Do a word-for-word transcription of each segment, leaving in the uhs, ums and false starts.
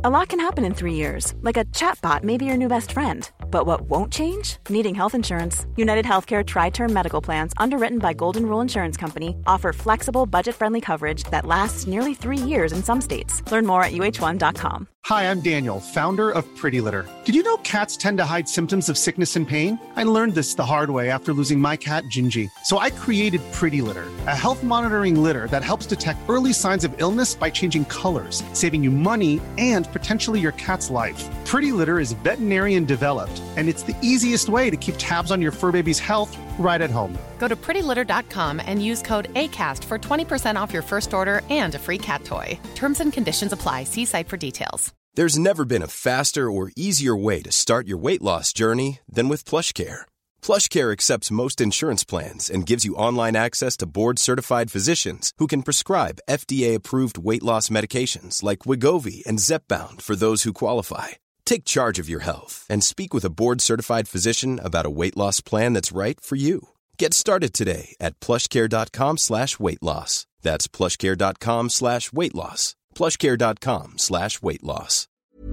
A lot can happen in three years, like a chatbot may be your new best friend. But what won't change? Needing health insurance. United Healthcare Tri-Term Medical Plans, underwritten by Golden Rule Insurance Company, offer flexible, budget-friendly coverage that lasts nearly three years in some states. Learn more at U H one dot com. Hi, I'm Daniel, founder of Pretty Litter. Did you know cats tend to hide symptoms of sickness and pain? I learned this the hard way after losing my cat, Gingy. So I created Pretty Litter, a health monitoring litter that helps detect early signs of illness by changing colors, saving you money and potentially your cat's life. Pretty Litter is veterinarian developed, and it's the easiest way to keep tabs on your fur baby's health right at home. Go to pretty litter dot com and use code ACAST for twenty percent off your first order and a free cat toy. Terms and conditions apply. See site for details. There's never been a faster or easier way to start your weight loss journey than with PlushCare. PlushCare accepts most insurance plans and gives you online access to board-certified physicians who can prescribe F D A-approved weight loss medications like Wegovy and Zepbound for those who qualify. Take charge of your health and speak with a board-certified physician about a weight loss plan that's right for you. Get started today at plushcare.com slash weight loss. That's plushcare.com slash weight loss. plushcare.com slash weight loss.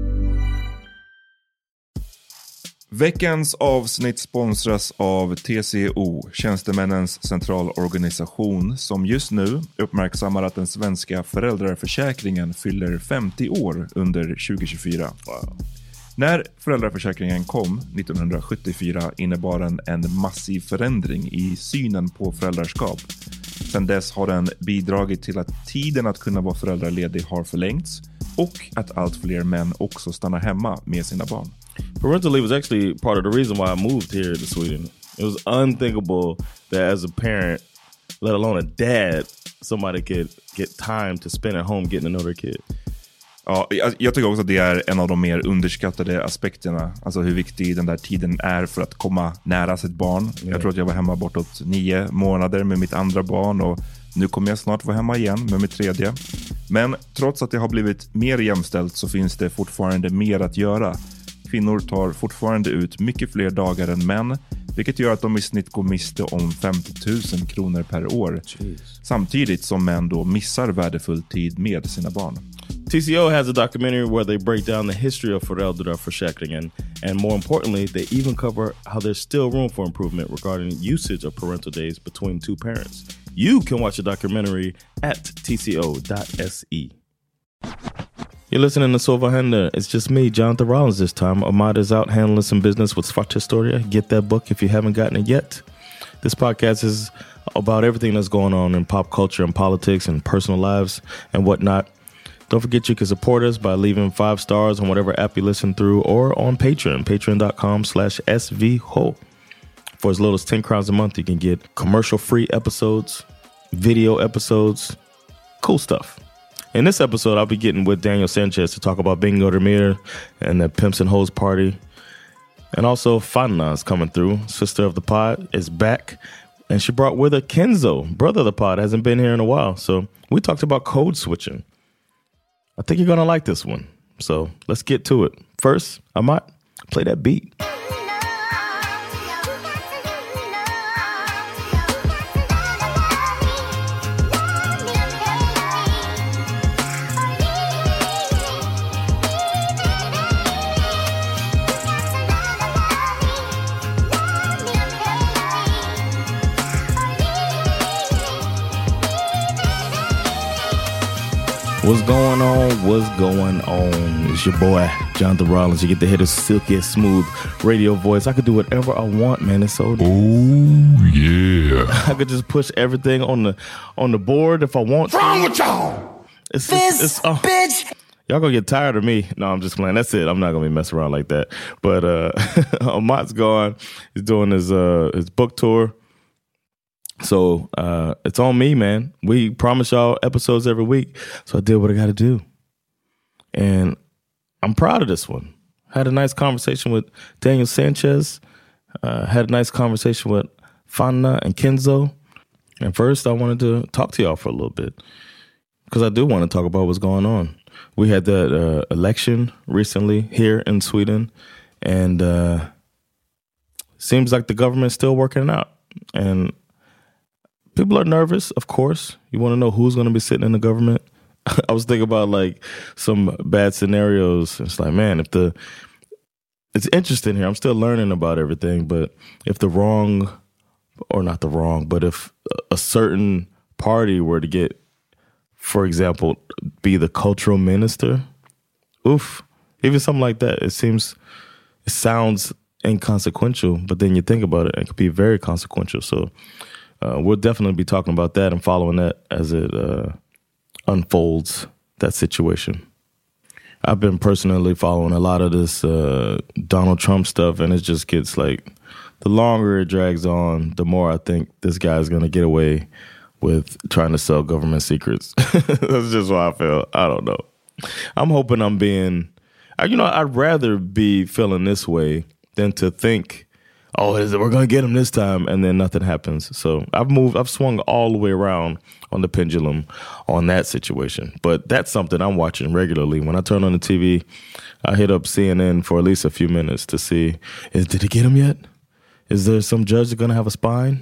Veckans avsnitt sponsras av T C O, Tjänstemännens centralorganisation, som just nu uppmärksammar att den svenska föräldraförsäkringen fyller femtio år under tjugo tjugofyra. Wow. När föräldraförsäkringen kom nittonhundrasjuttiofyra innebar den en massiv förändring i synen på föräldraskap. Sedan dess har den bidragit till att tiden att kunna vara föräldraledig har förlängts och att allt fler män också stannar hemma med sina barn. Parental leave was actually part of the reason why I moved here to Sweden. It was unthinkable that as a parent, let alone a dad, somebody could get time to spend at home getting to know their kid. Ja, jag, jag tycker också att det är en av de mer underskattade aspekterna. Alltså hur viktig den där tiden är för att komma nära sitt barn. Mm. Jag tror att jag var hemma bortåt nio månader med mitt andra barn och nu kommer jag snart vara hemma igen med mitt tredje. Men trots att det har blivit mer jämställt så finns det fortfarande mer att göra. Kvinnor tar fortfarande ut mycket fler dagar än män, vilket gör att de i snitt går miste om femtio tusen kronor per år. Jeez. Samtidigt som män då missar värdefull tid med sina barn. T C O has a documentary where they break down the history of föräldraförsäkringen, and more importantly, they even cover how there's still room for improvement regarding usage of parental days between two parents. You can watch the documentary at t c o dot s e. You're listening to Så vad händer? It's just me, Jonathan Rollins this time. Ahmad is out handling some business with Svart Historia. Get that book if you haven't gotten it yet. This podcast is about everything that's going on in pop culture and politics and personal lives and whatnot. Don't forget you can support us by leaving five stars on whatever app you listen through or on Patreon, patreon.com slash svho. For as little as ten crowns a month, you can get commercial-free episodes, video episodes, cool stuff. In this episode, I'll be getting with Daniel Sanchez to talk about Bingo Demir and the Pimps and Hoes party. And also, Fanna is coming through. Sister of the pod is back. And she brought with her Kenzo, brother of the pod, hasn't been here in a while. So we talked about code switching. I think you're going to like this one. So let's get to it. First, I might play that beat. What's going on? What's going on? It's your boy, Jonathan Rollins. You get to hear the silky, smooth radio voice. I could do whatever I want, man. It's so... Oh, yeah. I could just push everything on the on the board if I want. What's wrong with y'all? It's, this it's, it's, uh, bitch. Y'all gonna get tired of me. No, I'm just playing. That's it. I'm not gonna be messing around like that. But uh, Ahmad's gone. He's doing his uh, his book tour. So uh, it's on me, man. We promise y'all episodes every week. So I did what I got to do. And I'm proud of this one. Had a nice conversation with Daniel Sanchez. Uh, had a nice conversation with Fanna and Kenzo. And first, I wanted to talk to y'all for a little bit. Because I do want to talk about what's going on. We had that uh, election recently here in Sweden. And uh, seems like the government's still working it out. And people are nervous, of course. You want to know who's going to be sitting in the government. I was thinking about like some bad scenarios. It's like, man, if the it's interesting here. I'm still learning about everything, but if the wrong, or not the wrong, but if a certain party were to get, for example, be the cultural minister, oof, even something like that, it seems, it sounds inconsequential, but then you think about it, it could be very consequential. So uh, we'll definitely be talking about that and following that as it uh, unfolds, that situation. I've been personally following a lot of this uh, Donald Trump stuff, and it just gets like, the longer it drags on, the more I think this guy's going to get away with trying to sell government secrets. That's just what I feel. I don't know. I'm hoping I'm being, you know, I'd rather be feeling this way than to think, oh, we're going to get him this time, and then nothing happens. So I've moved, I've swung all the way around on the pendulum on that situation. But that's something I'm watching regularly. When I turn on the T V, I hit up C N N for at least a few minutes to see, is, did he get him yet? Is there some judge that's going to have a spine?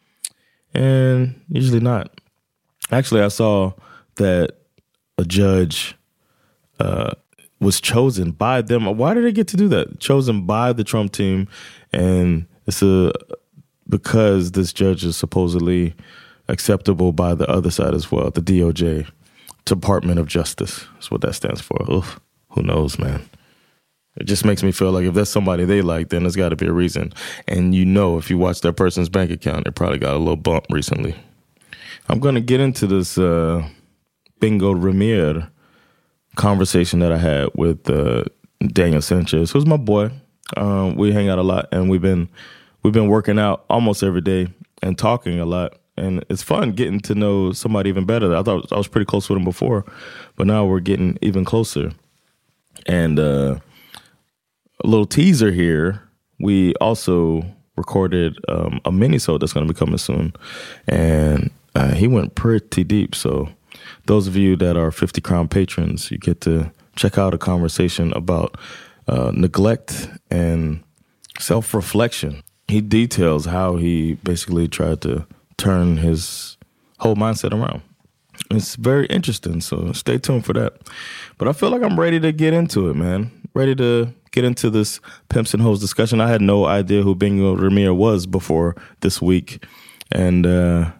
And usually not. Actually, I saw that a judge uh, was chosen by them. Why did they get to do that? Chosen by the Trump team. And it's a, because this judge is supposedly acceptable by the other side as well, the D O J, Department of Justice. That's what that stands for. Oof, who knows, man? It just makes me feel like if that's somebody they like, then there's got to be a reason. And you know, if you watch that person's bank account, they probably got a little bump recently. I'm going to get into this uh, Bingo Ramir conversation that I had with uh, Daniel Sanchez, who's my boy. Um, we hang out a lot, and we've been we've been working out almost every day and talking a lot. And it's fun getting to know somebody even better. I thought I was pretty close with him before, but now we're getting even closer. And uh, a little teaser here, we also recorded um, a mini-sode that's going to be coming soon. And uh, he went pretty deep. So those of you that are fifty Crown patrons, you get to check out a conversation about uh, neglect and self-reflection. He details how he basically tried to turn his whole mindset around. It's very interesting, so stay tuned for that. But I feel like I'm ready to get into it, man. Ready to get into this Pimps and Hoes discussion. I had no idea who Bingo Ramir was before this week. And uh,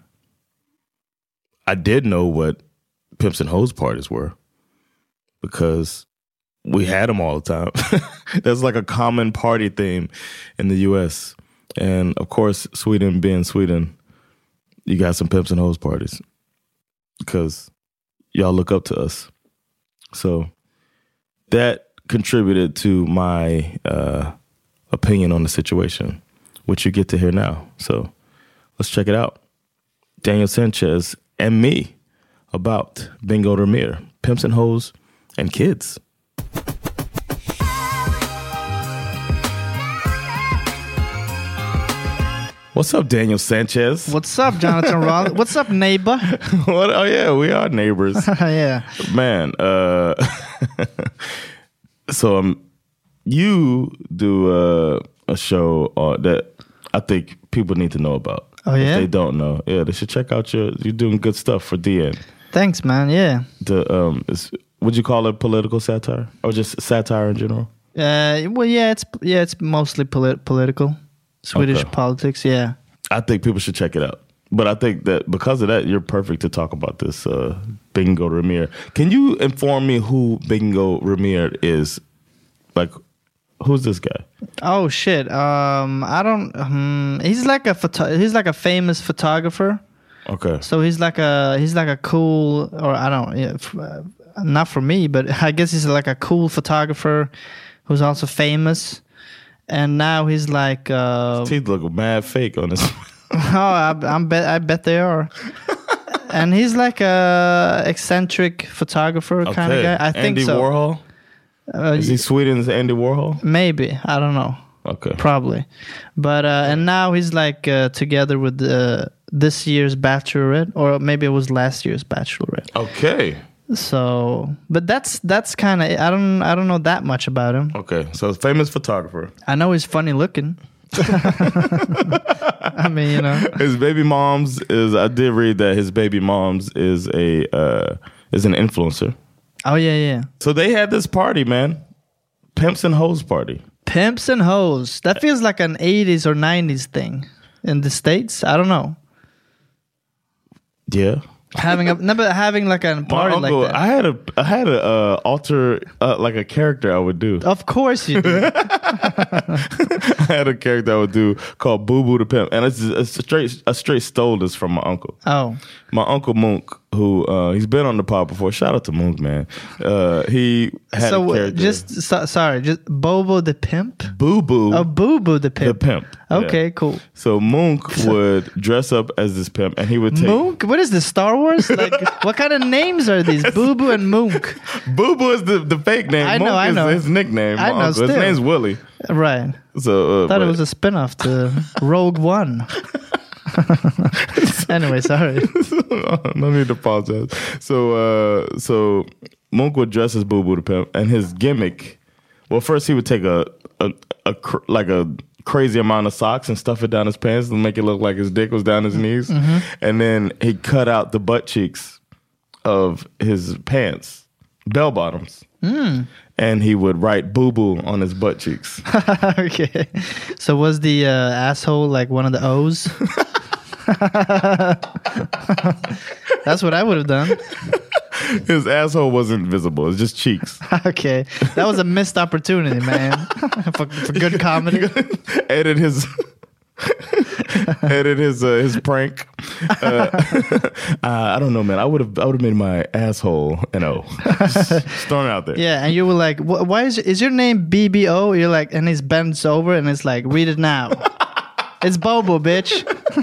I did know what Pimps and Hoes parties were because we had them all the time. That's like a common party theme in the U S. And, of course, Sweden being Sweden, you got some Pimps and Hoes parties because y'all look up to us. So that contributed to my uh, opinion on the situation, which you get to hear now. So let's check it out. Daniel Sanchez and me about Bingo Ramir, Pimps and Hoes, and kids. What's up, Daniel Sanchez? What's up, Jonathan Rollins? What's up, neighbor? What? Oh, yeah, we are neighbors. Yeah. Man, uh, so um, you do uh, a show uh, that I think people need to know about. Oh, yeah? If they don't know. Yeah, they should check out your, you're doing good stuff for D N. Thanks, man, yeah. The, um, is, would you call it political satire? Or just satire in general? Uh, well, yeah, it's yeah, it's mostly polit- political. Swedish okay. politics, yeah. I think people should check it out. But I think that because of that, you're perfect to talk about this uh, Bingo Ramir. Can you inform me who Bingo Ramir is? Like, who's this guy? Oh shit! Um, I don't. Um, he's like a photo- He's like a famous photographer. Okay. So he's like a he's like a cool, or I don't, yeah, f- uh, not for me, but I guess he's like a cool photographer who's also famous. And now he's like uh, his teeth look mad fake on this. Oh, I, I'm bet I bet they are. And he's like a eccentric photographer okay. kind of guy. I think Andy so. Warhol. Uh, Is he Sweden's Andy Warhol? Maybe, I don't know. Okay, probably. But uh, and now he's like uh, together with uh, this year's Bachelorette, or maybe it was last year's Bachelorette. Okay. So, but that's that's kind of I don't I don't know that much about him. Okay, so famous photographer. I know he's funny looking. I mean, you know, his baby mom's is. I did read that his baby mom's is a uh, is an influencer. Oh yeah, yeah. So they had this party, man. Pimps and Hoes party. Pimps and Hoes. That feels like an eighties or nineties thing in the States. I don't know. Yeah. Having a never having like a party uncle, like that. I had a I had a uh, alter uh, like a character I would do. Of course you do. I had a character I would do called Boo Boo the Pimp, and it's, it's a straight a straight stole this from my uncle. Oh, my uncle Mook, who uh, he's been on the pod before. Shout out to Mook, man. Uh, he had so a character. just so, sorry, just Bobo the Pimp. Boo Boo. Oh, Boo Boo the Pimp. The Pimp. Okay, yeah. cool. So Mook would dress up as this pimp, and he would take Mook. What is this, Star Wars? Like, what kind of names are these? Boo Boo and Mook. Boo Boo is the, the fake name. I know, Mook I know. is his nickname. I know, uncle. His still. name's Willie. Right. So uh, thought but, it was a spin-off to Rogue One. Anyway, sorry. No need to apologize. So, uh, so Mook would dress as Boo Boo the Pimp, and his gimmick. Well, first he would take a a, a cr- like a crazy amount of socks and stuff it down his pants and make it look like his dick was down his knees, mm-hmm. and then he cut out the butt cheeks of his pants, bell bottoms. Mm. And he would write "boo boo" on his butt cheeks. Okay, so was the uh, asshole like one of the O's? That's what I would have done. His asshole wasn't visible; it was just cheeks. Okay, that was a missed opportunity, man. for, for good comedy. Edit his. Edit his uh, his prank. Uh, uh, I don't know, man. I would have I would have made my asshole an O. Just throwing it out there. Yeah, and you were like, "Why is is your name B B O?" You're like, and he bends over and it's like, "Read it now." It's Bobo, bitch.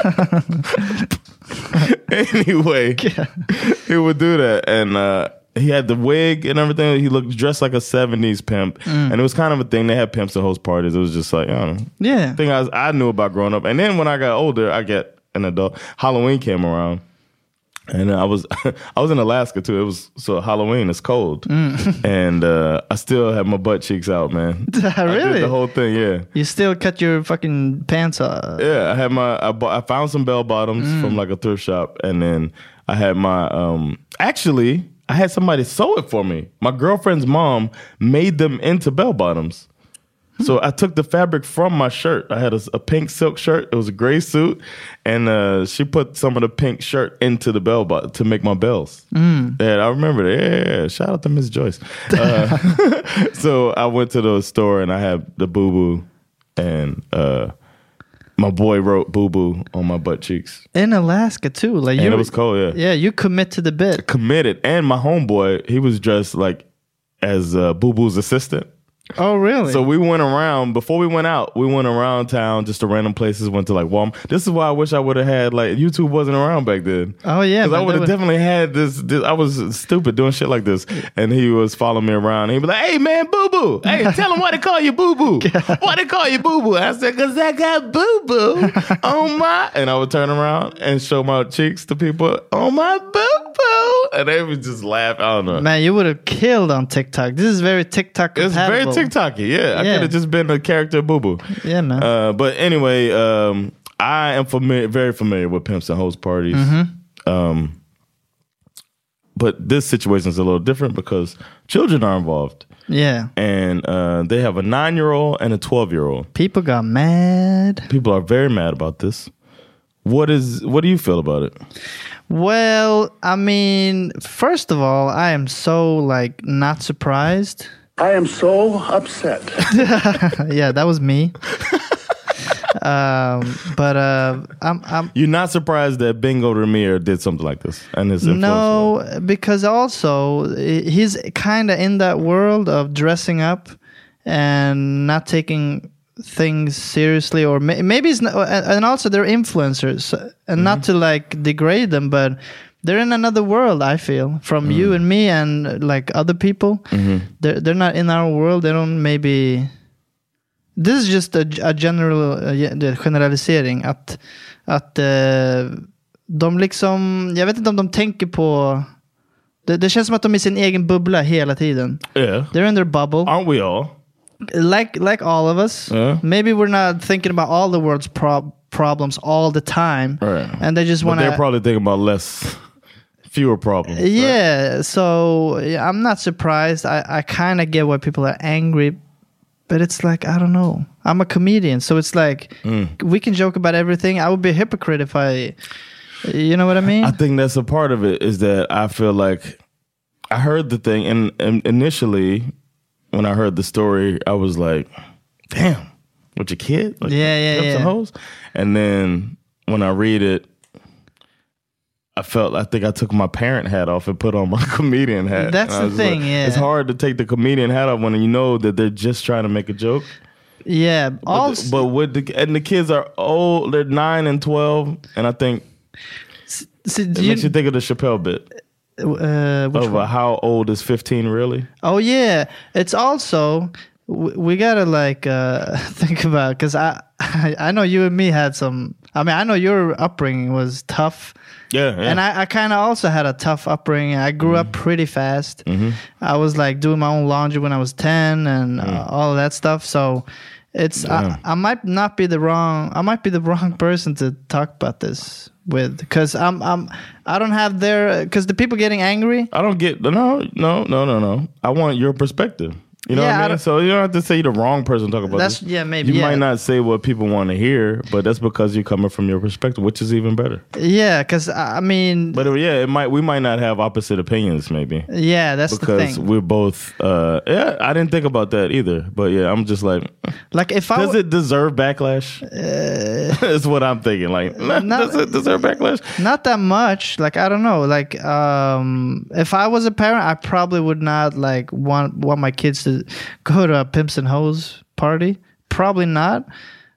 Anyway, yeah. He would do that, and uh, he had the wig and everything. He looked dressed like a seventies pimp, mm. and it was kind of a thing. They had pimps to host parties. It was just like, I don't know. Yeah, thing I, was, I knew about growing up. And then when I got older, I get an adult. Halloween came around, and I was I was in Alaska too. It was so Halloween. It's cold, mm. and uh, I still had my butt cheeks out, man. Really? I did the whole thing, yeah. You still cut your fucking pants off? Yeah, I had my. I, bought, I found some bell bottoms mm. from like a thrift shop, and then I had my. Um, actually, I had somebody sew it for me. My girlfriend's mom made them into bell bottoms. So I took the fabric from my shirt. I had a, a pink silk shirt. It was a gray suit, and uh, she put some of the pink shirt into the bell bottom to make my bells. Mm. And I remember that. Yeah, yeah, shout out to Miss Joyce. Uh, so I went to the store and I had the boo boo, and uh, my boy wrote boo boo on my butt cheeks. In Alaska too, like and you, it was cold. Yeah, yeah, you commit to the bit. Committed, and my homeboy, he was dressed like as uh, Boo Boo's assistant. Oh, really? So we went around, before we went out, we went around town just to random places, went to like Walmart. This is why I wish I would have had, like, YouTube wasn't around back then. Oh, yeah. Because I would have definitely had this, this, I was stupid doing shit like this. And he was following me around. And he'd be like, hey, man, Boo Boo. Hey, tell him why they call you Boo Boo. Why they call you Boo Boo? I said, because I got Boo Boo on my... And I would turn around and show my cheeks to people on my Boo Boo. And they would just laugh. I don't know. Man, you would have killed on TikTok. This is very TikTok compatible. It's very TikTok-y, yeah. I Yeah. could have just been a character Boo Boo. Yeah, man. Uh, but anyway, um, I am familiar, very familiar with pimps and host parties. Mm-hmm. Um, but this situation is a little different because children are involved. Yeah. And uh, they have a nine-year-old and a twelve-year-old. People got mad. People are very mad about this. What is? What do you feel about it? Well, I mean, first of all, I am so, like, not surprised. I am so upset. Yeah, that was me. um, but uh, I'm, I'm. You're not surprised that Bingo Ramir did something like this, and his no, because also he's kind of in that world of dressing up and not taking things seriously, or may, maybe it's not, and also they're influencers, and mm-hmm. not to like degrade them, but. They're in another world, I feel, from mm. you and me and like other people. Mm-hmm. They're they're not in our world. They don't maybe. This is just a, a general uh, generalisering att att uh, de liksom, jag vet inte om de tänker på. Det, det känns som att de är i sin egen bubbla hela tiden. Yeah. They're in their bubble. Aren't we all? Like like all of us. Yeah. Maybe we're not thinking about all the world's prob- problems all the time, right. and they just want to. They're probably thinking about less. fewer problems. Yeah, right? so yeah, I'm not surprised. I, I kind of get why people are angry, but it's like, I don't know. I'm a comedian, so it's like mm. we can joke about everything. I would be a hypocrite if I, you know what I mean? I think that's a part of it, is that I feel like I heard the thing, and, and initially when I heard the story, I was like, damn, with your kid? Like, yeah, yeah, yeah. And, hoes? And then when I read it, I felt, I think I took my parent hat off and put on my comedian hat. That's the thing, like, yeah. It's hard to take the comedian hat off when you know that they're just trying to make a joke. Yeah. But, also, but with the, and the kids are old, they're nine and twelve, and I think so, it you, makes you think of the Chappelle bit. Uh, which of one? How old is fifteen really? Oh, yeah. It's also... we gotta like uh think about, because I, I I know you and me had some, I mean I know your upbringing was tough, yeah, yeah. and I, I kind of also had a tough upbringing. I grew mm-hmm. up pretty fast. Mm-hmm. I was like doing my own laundry when I was ten and mm. uh, all of that stuff, so it's I, I might not be the wrong I might be the wrong person to talk about this with, because I'm I'm I don't have their, because the people getting angry, I don't get no no no no no I want your perspective. You know yeah, what I mean? So you don't have to say you're the wrong person to talk about that's, this. Yeah, maybe. You yeah. might not say what people want to hear, but that's because you're coming from your perspective, which is even better. Yeah, because I mean... But yeah, it might. we might not have opposite opinions, maybe. Yeah, that's the thing. Because we're both... Uh, yeah, I didn't think about that either. But yeah, I'm just like... Like if I Does it deserve backlash? Uh, that's what I'm thinking. Like, not, does it deserve backlash? Not that much. Like, I don't know. Like, um, if I was a parent, I probably would not like want want my kids to go to a Pimps and Hoes party. Probably not.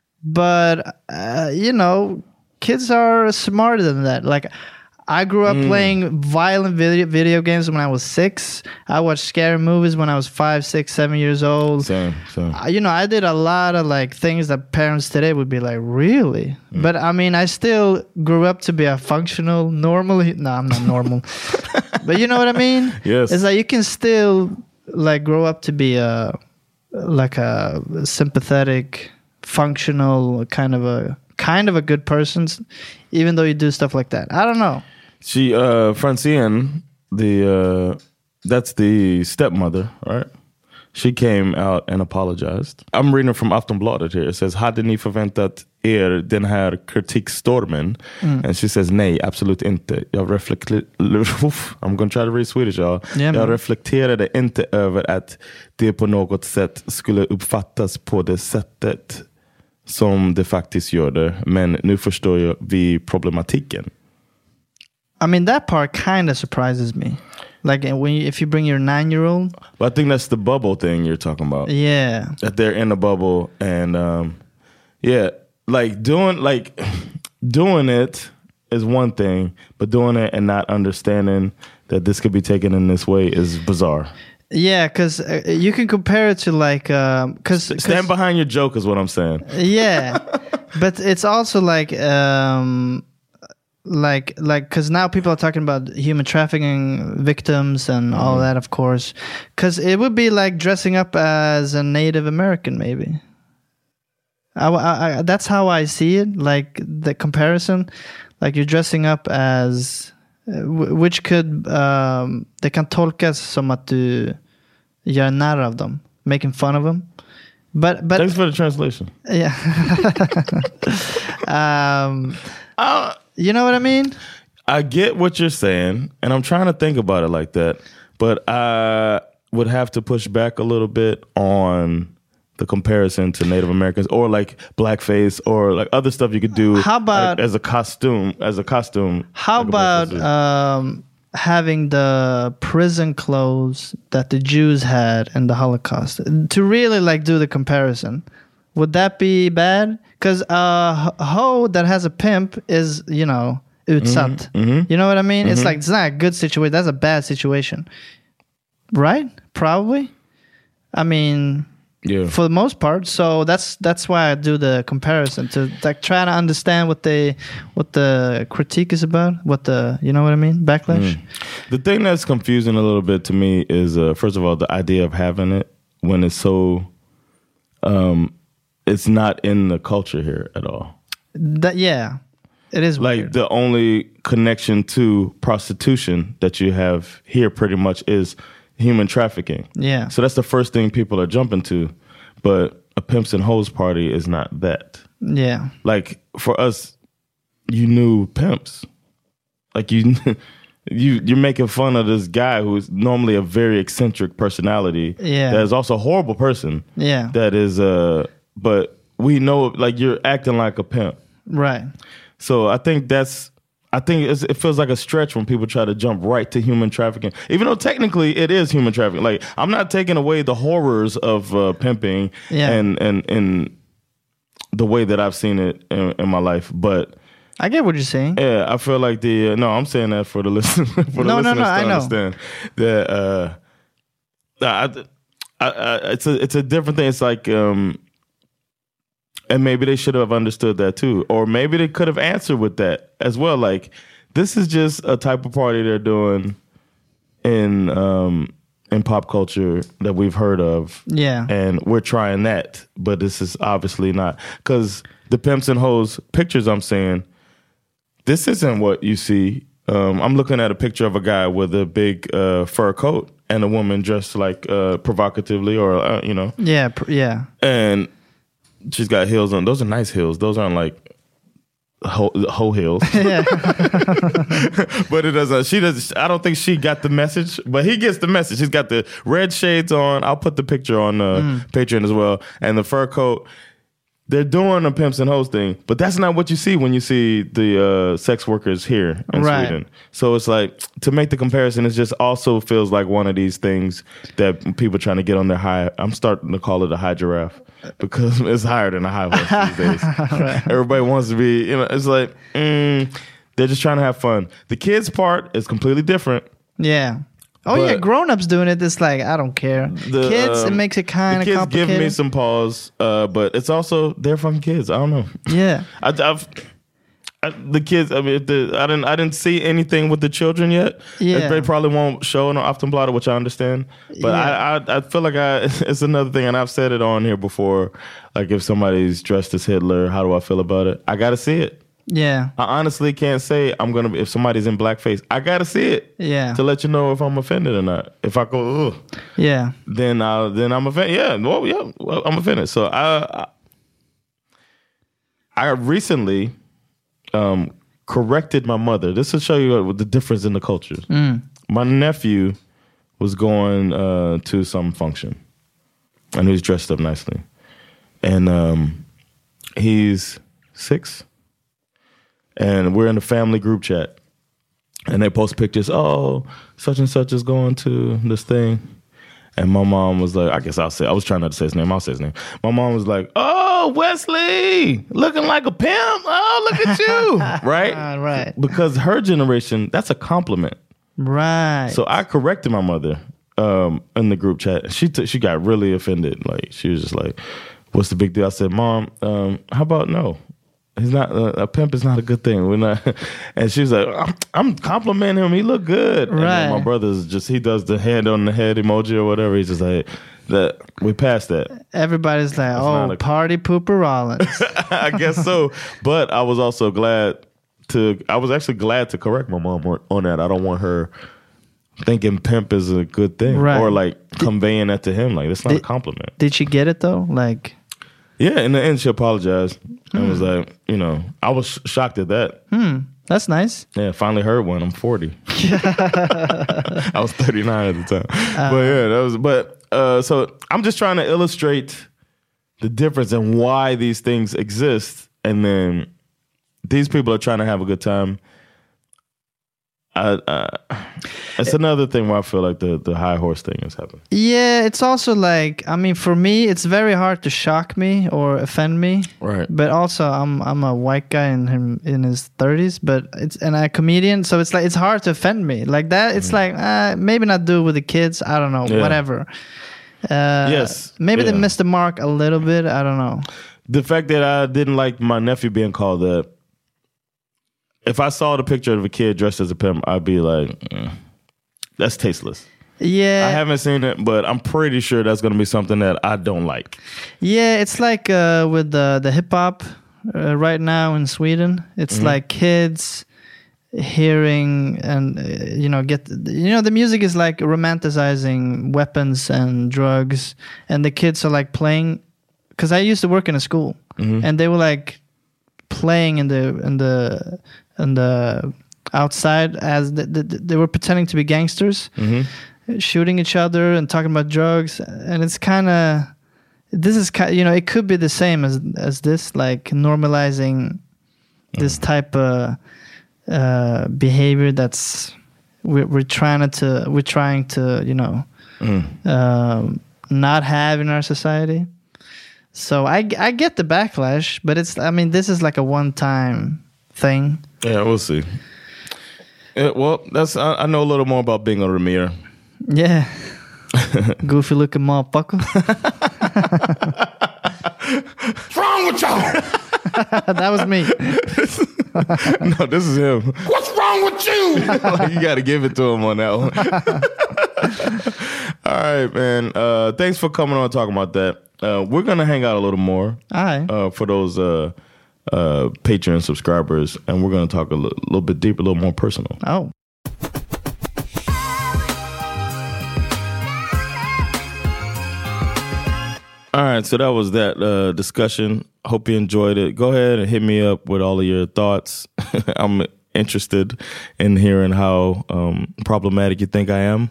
But uh, you know, kids are smarter than that. Like, I grew up mm. playing violent video video games when I was six. I watched scary movies when I was five, six, seven years old. Same, same. Uh, you know, I did a lot of like things that parents today would be like, really? Mm. But I mean, I still grew up to be a functional, normal. No, I'm not normal. But you know what I mean? Yes. It's like you can still like grow up to be a like a sympathetic, functional kind of a kind of a good person, even though you do stuff like that. I don't know. She, uh, Francine, the uh, that's the stepmother, right? She came out and apologized. I'm reading from Aftonbladet here. It says, hade ni förväntat er den här kritikstormen? Mm. And she says, nej, absolut inte. Jag reflekter... I'm going to try to read Swedish, y'all. Yeah, jag reflekterade inte över att det på något sätt skulle uppfattas på det sättet som det faktiskt gör det. Men nu förstår jag vi problematiken. I mean, that part kind of surprises me. Like when you, if you bring your nine-year-old. But I think that's the bubble thing you're talking about. Yeah. That they're in a bubble. And um, yeah, like doing like doing it is one thing, but doing it and not understanding that this could be taken in this way is bizarre. Yeah, because uh, you can compare it to like... Um, cause, Stand cause, behind your joke is what I'm saying. Yeah, but it's also like... Um, like like because now people are talking about human trafficking victims and mm. all that, of course, because it would be like dressing up as a Native American, maybe. I, I, I, that's how I see it, like the comparison, like you're dressing up as uh, w- which could um, det kan tolkas som att du gör narr av dem, making fun of them. But but thanks for the translation. Yeah. um uh, You know what I mean? I get what you're saying, and I'm trying to think about it like that, but I would have to push back a little bit on the comparison to Native Americans or like blackface or like other stuff you could do. How about like, as a costume? As a costume. How like about um, having the prison clothes that the Jews had in the Holocaust to really like do the comparison? Would that be bad? Because a uh, hoe that has a pimp is, you know, utsatt. Mm-hmm, mm-hmm. You know what I mean? Mm-hmm. It's like, it's not a good situation. That's a bad situation. Right? Probably. I mean, yeah. For the most part. So that's that's why I do the comparison, to like try to understand what they what the critique is about, what the, you know what I mean? Backlash. Mm. The thing that's confusing a little bit to me is, uh, first of all, the idea of having it when it's so... Um, it's not in the culture here at all. That yeah. It is like weird. the only connection to prostitution that you have here pretty much is human trafficking. Yeah. So that's the first thing people are jumping to. But a pimps and hoes party is not that. Yeah. Like for us, you knew pimps. Like you, you you're making fun of this guy who's normally a very eccentric personality. Yeah. That is also a horrible person. Yeah. That is uh but we know like you're acting like a pimp. Right. So I think that's, I think it's, it feels like a stretch when people try to jump right to human trafficking, even though technically it is human trafficking. Like I'm not taking away the horrors of uh, pimping Yeah. and, and, and the way that I've seen it in, in my life. But I get what you're saying. yeah, I feel like the, uh, no, I'm saying that for the listen, for the No, no, listeners no, to I know. understand that, uh, I, I, I, it's a, it's a different thing. It's like, um, and maybe they should have understood that too. Or maybe they could have answered with that as well. Like, this is just a type of party they're doing in um, in pop culture that we've heard of. Yeah. And we're trying that. But this is obviously not. Because the pimps and hoes pictures I'm saying, this isn't what you see. Um, I'm looking at a picture of a guy with a big uh, fur coat and a woman dressed like uh, provocatively or, uh, you know. Yeah, pr- yeah. And she's got heels on. Those are nice heels. Those aren't like hoe, hoe heels. Yeah. But it doesn't. She does. I don't think she got the message. But he gets the message. He's got the red shades on. I'll put the picture on uh, Mm. Patreon as well. And the fur coat. They're doing a pimps and hoes thing, but that's not what you see when you see the uh, sex workers here in Right. Sweden. So it's like, to make the comparison, it just also feels like one of these things that people trying to get on their high. I'm starting to call it a high giraffe because it's higher than a high horse these days. Right. Everybody wants to be, you know, it's like, mm, they're just trying to have fun. The kids part is completely different. Yeah. Oh But- yeah, grown-ups doing it. It's like I don't care. The, Kids, it um, makes it kind the of kids complicated. give me some pause, uh, but it's also they're fucking kids. I don't know. Yeah. I, I've I, the kids. I mean, the, I didn't. I didn't see anything with the children yet. Yeah. They probably won't show on Aftonbladet, which I understand. But Yeah. I, I, I feel like I. It's another thing, and I've said it on here before. Like if somebody's dressed as Hitler, how do I feel about it? I got to see it. Yeah. I honestly can't say I'm gonna. If somebody's in blackface, I got to see it. Yeah. To let you know if I'm offended or not. If I go, ugh. Yeah. Then I then I'm offended. Yeah, well, yeah, well, I'm offended. So I, I, I recently um, corrected my mother. This will show you the difference in the cultures. Mm. My nephew was going uh, to some function, and he was dressed up nicely, and um, he's six, and we're in a family group chat, and they post pictures. Oh, such and such is going to this thing. And my mom was like, I guess I'll say, I was trying not to say his name. I'll say his name. My mom was like, oh, Wesley, looking like a pimp. Oh, look at you. Right? Uh, right. Because her generation, that's a compliment. Right. So I corrected my mother um, in the group chat. She t- she got really offended. Like, she was just like, what's the big deal? I said, Mom, um, how about no? He's not uh, a pimp is not a good thing. We're not. And she was like, I'm, I'm complimenting him. He look good. And then Right. my brother's just, he does the hand on the head emoji or whatever. He's just like, that we passed that. Everybody's like, oh, not a- party pooper Rollins. I guess so. But I was also glad to, I was actually glad to correct my mom on, on that. I don't want her thinking pimp is a good thing. Right. Or like conveying that to him. Like, that's not Did- a compliment. Did she get it though? Like, Yeah, in the end, she apologized and was like, you know, I was sh- shocked at that. hmm, that's nice. Yeah, finally heard one. I'm forty. I was thirty-nine at the time. But yeah, that was, but uh, so I'm just trying to illustrate the difference and why these things exist. And then these people are trying to have a good time. I, uh, it's another thing where I feel like the, the high horse thing is happening. Yeah, it's also like, I mean, for me, it's very hard to shock me or offend me. Right. But also, I'm I'm a white guy in him in his thirties, but it's and I'm a comedian, so it's like it's hard to offend me like that. It's like uh, maybe not do it with the kids. I don't know, Yeah. whatever. Uh, Yes, maybe they yeah. missed the mark a little bit. I don't know. The fact that I didn't like my nephew being called that. If I saw the picture of a kid dressed as a pimp, I'd be like, mm, that's tasteless. Yeah, I haven't seen it, but I'm pretty sure that's going to be something that I don't like. yeah. It's like uh, with the the hip hop uh, right now in Sweden. It's mm-hmm. like kids hearing and uh, you know get you know the music is like romanticizing weapons and drugs, and the kids are like playing. Because I used to work in a school, mm-hmm. and they were like playing in the in the in the outside as the, the, they were pretending to be gangsters, mm-hmm. shooting each other and talking about drugs, and it's kind of this is kind you know it could be the same as as this, like normalizing mm-hmm. this type of uh, behavior that's we're, we're trying to we're trying to you know mm. um, not have in our society. So I, I get the backlash, but it's I mean this is like a one time thing. Yeah, we'll see. Yeah, well, that's I, I know a little more about being a Ramir. Yeah, goofy looking motherfucker. What's wrong with y'all? That was me. No, this is him. What's wrong with you? Like, you got to give it to him on that one. All right, man. Uh, thanks for coming on and talking about that. Uh, we're going to hang out a little more. All right. Uh, for those uh, uh, Patreon subscribers, and we're going to talk a l- little bit deeper, a little more personal. Oh. All right, so that was that uh, discussion. Hope you enjoyed it. Go ahead and hit me up with all of your thoughts. I'm interested in hearing how um, problematic you think I am.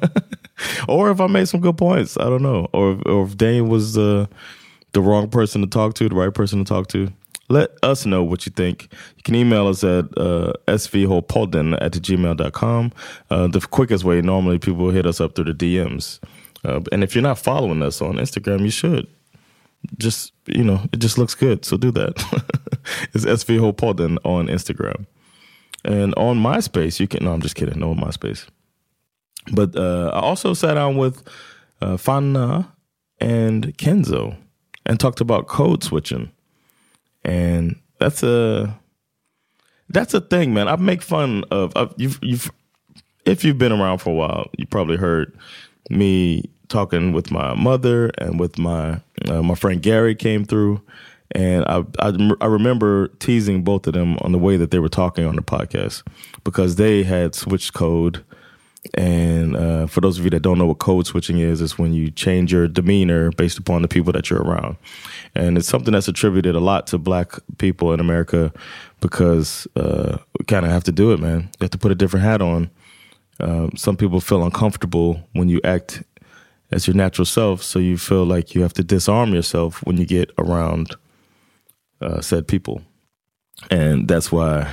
Or if I made some good points. I don't know. Or, or if Dane was uh, the wrong person to talk to, the right person to talk to. Let us know what you think. You can email us at uh, svhopodden at gmail dot com. Uh, the quickest way, normally people hit us up through the D Ms. Uh, and if you're not following us on Instagram, you should. Just, you know, it just looks good. So do that. It's svhopodden on Instagram. And on MySpace, you can, no, I'm just kidding. No, on MySpace. But uh, I also sat down with uh, Fanna and Kenzo and talked about code switching. And that's a that's a thing, man. I make fun of I've, you've, you've if you've been around for a while, you probably heard me talking with my mother and with my uh, my friend Gary came through, and I, I I remember teasing both of them on the way that they were talking on the podcast because they had switched code. And uh, for those of you that don't know what code switching is, it's when you change your demeanor based upon the people that you're around. And it's something that's attributed a lot to black people in America because uh, we kind of have to do it, man. You have to put a different hat on. Uh, some people feel uncomfortable when you act as your natural self, so you feel like you have to disarm yourself when you get around uh, said people. And that's why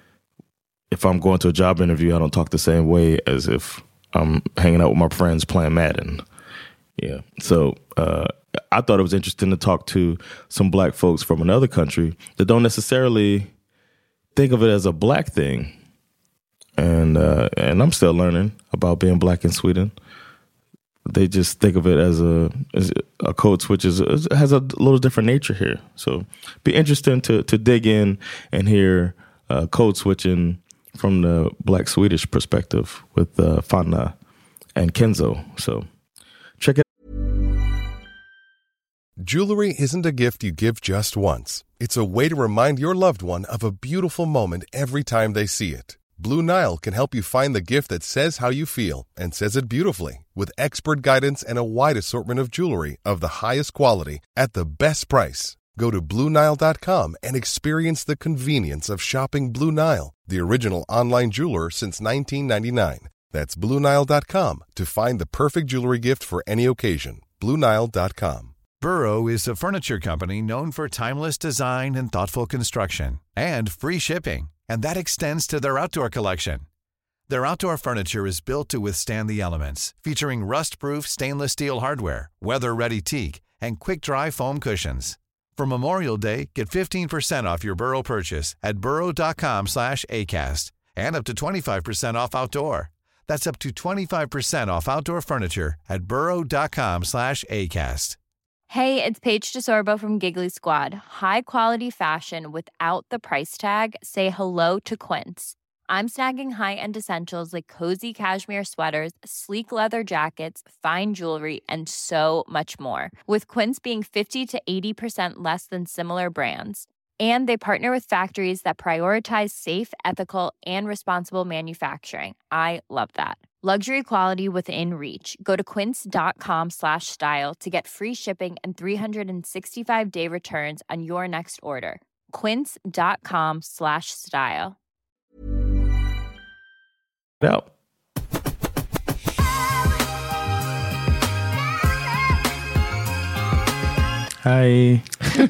if I'm going to a job interview, I don't talk the same way as if I'm hanging out with my friends playing Madden. Yeah. So uh, I thought it was interesting to talk to some black folks from another country that don't necessarily think of it as a black thing. And uh, and I'm still learning about being black in Sweden. They just think of it as a as a code switch is, has a little different nature here. So be interesting to to dig in and hear uh, code switching from the black Swedish perspective with uh, Fanna and Kenzo. So check it. Jewelry isn't a gift you give just once. It's a way to remind your loved one of a beautiful moment every time they see it. Blue Nile can help you find the gift that says how you feel and says it beautifully with expert guidance and a wide assortment of jewelry of the highest quality at the best price. Go to Blue Nile dot com and experience the convenience of shopping Blue Nile, the original online jeweler since nineteen ninety-nine. That's Blue Nile dot com to find the perfect jewelry gift for any occasion. Blue Nile dot com. Burrow is a furniture company known for timeless design and thoughtful construction and free shipping, and that extends to their outdoor collection. Their outdoor furniture is built to withstand the elements, featuring rust-proof stainless steel hardware, weather-ready teak, and quick-dry foam cushions. For Memorial Day, get fifteen percent off your Burrow purchase at burrow dot com slash acast and up to twenty-five percent off outdoor. That's up to twenty-five percent off outdoor furniture at burrow dot com slash acast. Hey, it's Paige DeSorbo from Giggly Squad. High quality fashion without the price tag. Say hello to Quince. I'm snagging high-end essentials like cozy cashmere sweaters, sleek leather jackets, fine jewelry, and so much more. With Quince being fifty to eighty percent less than similar brands. And they partner with factories that prioritize safe, ethical, and responsible manufacturing. I love that. Luxury quality within reach. Go to quince.com slash style to get free shipping and three sixty-five day returns on your next order. Quince.com slash style. Out. Hi.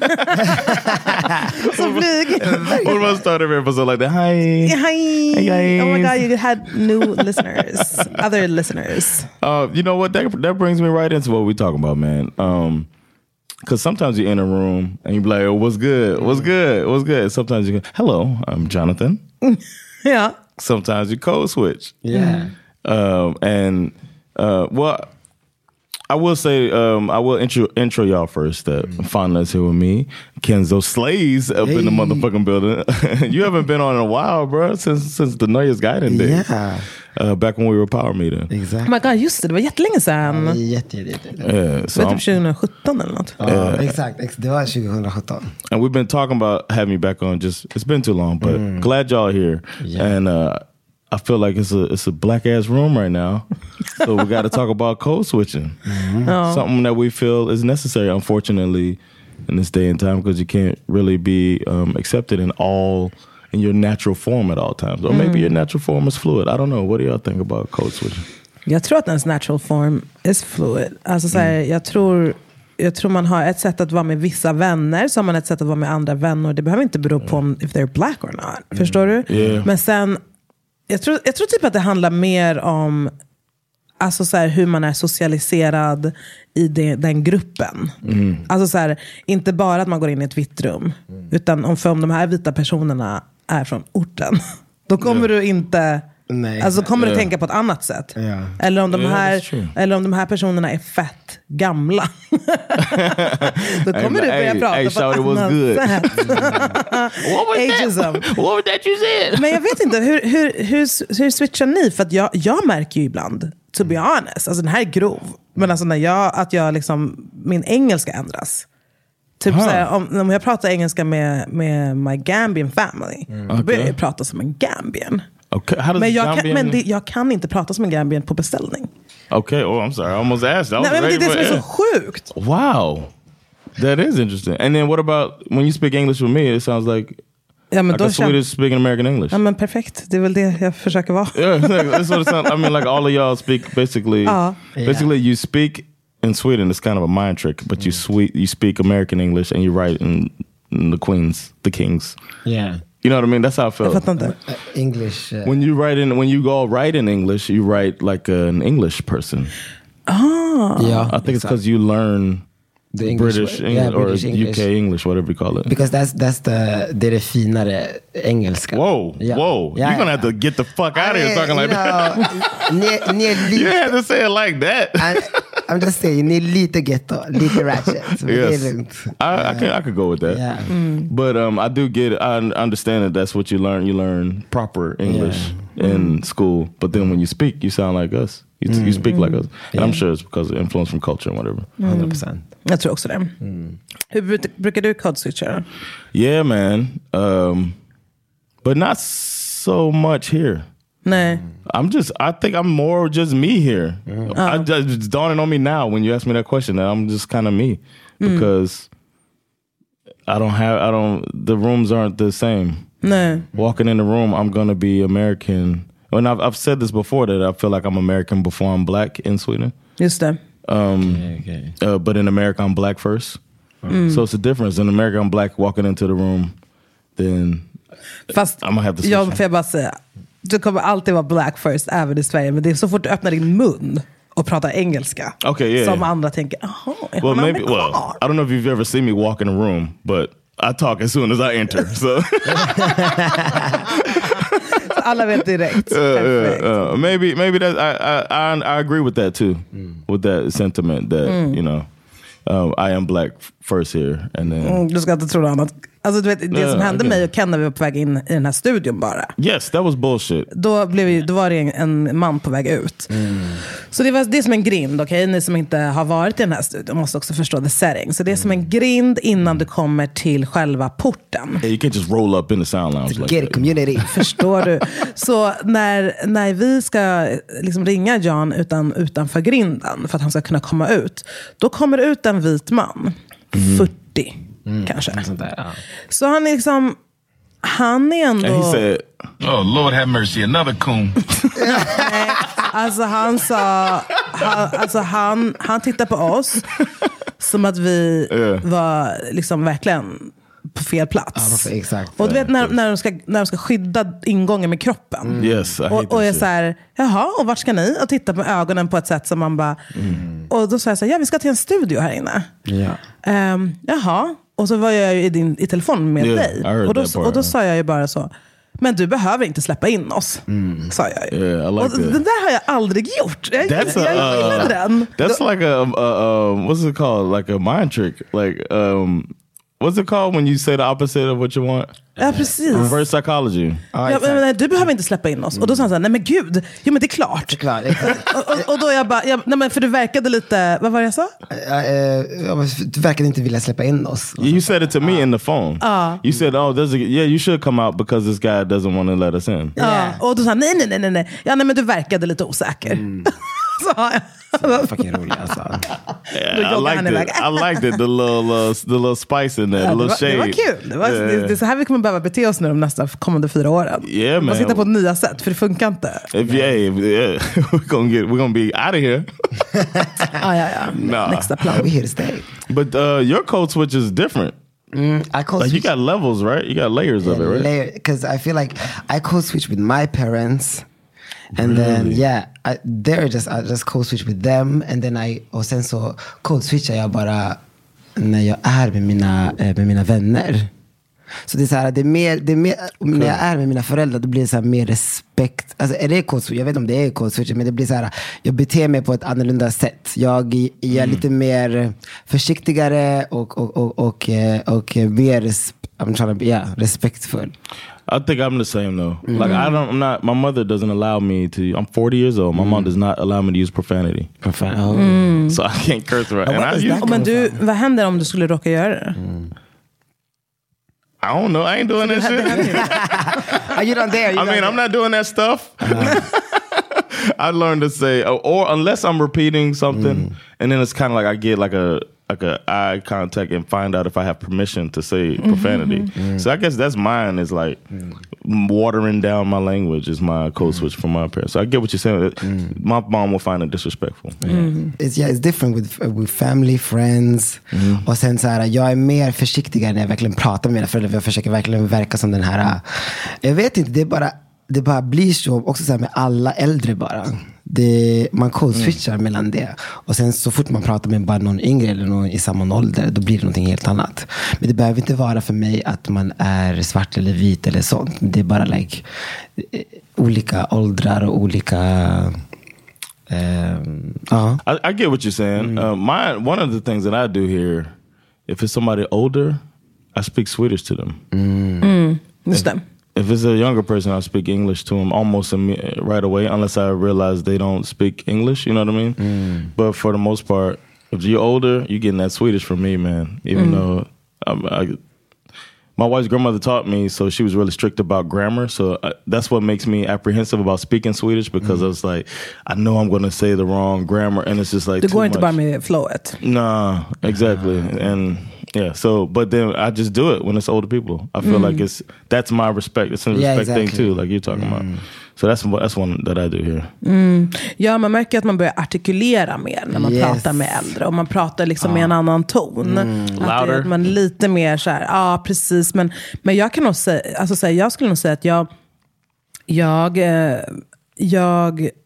Så blyg. What about start every episode like that? Hi. Hi. Hey guys. Oh my God, you had new listeners, other listeners. Uh, you know what? That that brings me right into what we're talking about, man. Um, because sometimes you're in a room and you be like, "Oh, what's good? What's good? What's good?" Sometimes you go, "Hello, I'm Jonathan." Yeah. Sometimes you code switch. Yeah. Um, and uh, well. I will say, um, I will intro, intro y'all first. That mm. Fondness here with me, Kenzo Slays up hey. in the motherfucking building. You haven't been on in a while, bro, since since the Nöjesguiden days. Yeah. Uh, back when we were power meeting. Exactly. Oh my God, just det, det var jättelänge sedan. Ja, jätte, jätte, jätte. Yeah, so det var typ tjugo sjutton eller något. Ja, uh, exakt. Det var tjugo sjutton. And we've been talking about having you back on. Just it's been too long, but mm. glad y'all are here. Yeah. And uh, I feel like it's a it's a black ass room right now, so we got to talk about code switching, mm-hmm. oh. something that we feel is necessary, unfortunately, in this day and time, because you can't really be um, accepted in all in your natural form at all times, or mm. maybe your natural form is fluid. I don't know. What do y'all think about code switching? Jag tror att ens natural form is fluid. Alltså så här, mm. jag tror jag tror man har ett sätt att vara med vissa vänner, så har man ett sätt att vara med andra vänner. Det behöver inte bero på om if they're black or not. Mm. Förstår du? Yeah. Men sen Jag tror, jag tror typ att det handlar mer om alltså så här, hur man är socialiserad i det, den gruppen. Mm. Alltså så här, inte bara att man går in i ett vitt rum, mm. utan om, för om de här vita personerna är från orten, då kommer yeah. du inte... Nej, alltså kommer yeah. du tänka på ett annat sätt. Yeah. Eller om de yeah, här eller om de här personerna är fett gamla. Då kommer hey, du börja hey, prata hey, på ett annat good. sätt. What was Ageism. that? What was that you said? Men jag vet inte, hur, hur, hur, hur switchar ni? För att jag, jag märker ju ibland, to be honest, alltså den här är grov, men alltså när jag, att jag liksom, min engelska ändras. Typ huh. såhär, om, om jag pratar engelska med, med my Gambian family, mm. då börjar jag prata som en Gambian. Okay. How does men jag Gambian... kan, men det, jag kan inte prata som en Gambian på beställning. Okay, oh I'm sorry, I almost asked. I Nej, men det är det som är så sjukt. Wow, that is interesting. And then what about when you speak English with me? It sounds like ja, men like a Swedish speaking American English. Ja, men perfekt. Det är väl det jag försöker vara. Yeah, that's what it sounds. I mean, like all of y'all speak basically. Uh, basically, yeah. you speak in Sweden. It's kind of a mind trick, but mm. you sweet you speak American English and you write in, in the Queens, the Kings. Yeah. You know what I mean? That's how I felt. Jag fattar inte. Uh, English. Uh, when you write in, when you go write in English, you write like an English person. Ah. Yeah. I think it's because you learn the English, British English yeah, or British U English. K English, whatever you call it. Because that's that's the det är det finare engelska. Whoa, yeah. whoa! Yeah, You're gonna yeah. have to get the fuck out of here talking like know, that. ni, ni är lite, You had to say it like that. I, I'm just saying, ni är lite ghetto, lite ratchet. Så yes. det är lugnt. I, I can I could go with that. Yeah. Mm. But um, I do get it. I understand that that's what you learn. You learn proper English yeah. in mm. school, but then when you speak, you sound like us. You, mm. you speak mm. like us, and yeah. I'm sure it's because of influence from culture and whatever. one hundred percent. Jag tror också det. Mm. Hur brukar, brukar du code switcha? Yeah, man. Um, but not so much here. Nej. I'm just, I think I'm more just me here. Mm. I, Oh. just, it's dawning on me now when you ask me that question that I'm just kind of me because mm. I don't have, I don't, the rooms aren't the same. Nej. Walking in the room, I'm going to be American. And I've, I've said this before that I feel like I'm American before I'm black in Sweden. Just det. Um, Okay, okay. Uh, but in America, I'm black first. Mm. So it's a difference. In America, I'm black walking into the room. Then Fast I'm gonna have to switch. jag får jag bara säga, du kommer alltid vara black first även i Sverige, men det är så fort du öppnar din mun och pratar engelska Okay, yeah, som yeah. andra tänker, jaha, är Well, han maybe. Well, amerikan? I don't know if you've ever seen me walk in a room, but I talk as soon as I enter. So alla vet direkt. uh, uh, uh, maybe, maybe that I, I I I agree with that too, mm. with that sentiment that mm. you know, um, I am black f- first here, and then Mm, du ska inte tro något annat. Alltså du vet, det yeah, som hände okay. mig och Ken när vi var på väg in i den här studion bara. Yes, that was bullshit. Då, blev vi, då var det en, en man på väg ut. Mm. Så det, var, det är som en grind, okej? Okay? Ni som inte har varit i den här studion måste också förstå the setting. Så det är som en grind innan du kommer till själva porten. Yeah, you can't just roll up in the sound lounge like Get it, community. Förstår du? Så när, när vi ska liksom ringa John utan, utanför grinden för att han ska kunna komma ut, då kommer ut en vit man. Mm. fyrtio. Mm, kanske. Där, ja. Så han är liksom, han är ändå... And he said, oh Lord have mercy, another coon. Nej, alltså han sa, han, alltså han, han tittade på oss som att vi yeah. var liksom verkligen på fel plats. Ja, exakt. Och du vet när, när, de ska, när de ska skydda ingången med kroppen. Mm. Yes, och, och jag så här, jaha, och vart ska ni? Och titta med ögonen på ett sätt som man bara... Mm. Och då sa jag så här, ja vi ska till en studio här inne. Yeah. Um, jaha. Och så var jag ju i, din, i telefon med yeah, dig. Och då, och då sa jag ju bara så, men du behöver inte släppa in oss. Mm. Sa jag ju. Yeah, I like och that. Den där har jag aldrig gjort. Jag, that's jag, jag gillar uh, den. That's like a, a um, what's it called? Like a mind trick. Like, um, what's it called when you say the opposite of what you want? Ja, precis. Reverse psychology. Ah, ja, men, nej, du behöver inte släppa in oss. Mm. Och då sa han så här, nej men gud, jo men det är klart. Det är klart, det är klart. och, och, och då jag bara, jag, nej men för du verkade lite, vad var det jag sa? Uh, uh, du verkade inte vilja släppa in oss. You said it to me uh. in the phone. Uh. You said, oh, there's a, yeah, you should come out because this guy doesn't want to let us in. Ja, yeah. Och då sa han, nej, nej, nej, nej. Ja, nej, men du verkade lite osäker. Mm. Så jag. Så fucking rolig alltså. Yeah, I liked it. I liked it. The little, uh, the little spice in there, ja, the little det shade. Det var kul. Det, var, yeah. det, det är så här vi kommer behöva bete oss nu de nästa kommande fyra åren. Yeah, man. Man sitter på nya sätt, för det funkar inte. If, yeah, if, yeah. we're gonna get, we're gonna be out of here. ah, ja, ja. Nah. Nästa plan. We here to stay. But uh, your code switch is different. Mm, I code like switch. You got levels, right? You got layers yeah, of it, right? Layer, because I feel like I code switch with my parents. And really? then yeah, I, they're just I just code switch with them, and then I och sen så code switchar jag bara när jag är med mina med mina vänner. Så det är så här, det är mer det är mer cool. När jag är med mina föräldrar då blir det så här mer respekt. Alltså är det code switch? Jag vet inte om det är code switch, men det blir så här, jag beter mig på ett annorlunda sätt. Jag, jag är mm. lite mer försiktigare och och och och, och, och mer res, I'm trying to be, yeah, respektfull. I think I'm the same though. Mm-hmm. Like I don't, I'm not. My mother doesn't allow me to. I'm forty years old. My mm. mom does not allow me to use profanity. Profanity. Oh. Mm. So I can't curse right. And I use, men du, vad händer om du skulle råka göra det? Mm. I don't know. I ain't doing that shit. Are you not there? I mean, I'm not doing that stuff. Uh-huh. I learned to say, or unless I'm repeating something, mm. and then it's kind of like I get like a. like a eye contact and find out if I have permission to say profanity. Mm-hmm. So I guess that's mine is like mm. watering down my language is my code switch from my parents. So I get what you're saying. Mm. My mom will find it disrespectful. Mm. It's, yeah, it's different with, with family, friends. Mm. Och sen så här, jag är mer försiktigare när jag verkligen pratar med mina föräldrar. Jag försöker verkligen verka som den här. Jag vet inte, det är bara det bara blir så också så här med alla äldre bara. Det, man code-switchar mm. mellan det. Och sen så fort man pratar med bara någon yngre eller någon i samma ålder, då blir det någonting helt annat. Men det behöver inte vara för mig att man är svart eller vit eller sånt. Det är bara like olika åldrar och olika um, uh. I, I get what you're saying. Mm. Uh, my, one of the things that I do here, if it's somebody older, I speak Swedish to them. Mm. Mm. Just them. If it's a younger person, I'll speak English to them almost right away, unless I realize they don't speak English, you know what I mean? Mm. But for the most part, if you're older, you're getting that Swedish from me, man. Even mm. though um, I, my wife's grandmother taught me, so she was really strict about grammar. So I, that's what makes me apprehensive about speaking Swedish, because mm. I was like, I know I'm going to say the wrong grammar, and it's just like du går inte bara med flowet. Nah, exactly. Uh, and yeah, so but then I just do it when it's older people. I feel mm. like it's that's my respect. It's a respect yeah, exactly. thing too, like you're talking mm. about. So that's that's one that I do here. Mm. Ja, man märker att man börjar artikulera mer när man yes. pratar med äldre, och man pratar liksom ah. med en annan ton. Mm. Att det, man lite mer så här, ja ah, precis. Men men jag kan nog säga, alltså säga, jag skulle nog säga att jag jag jag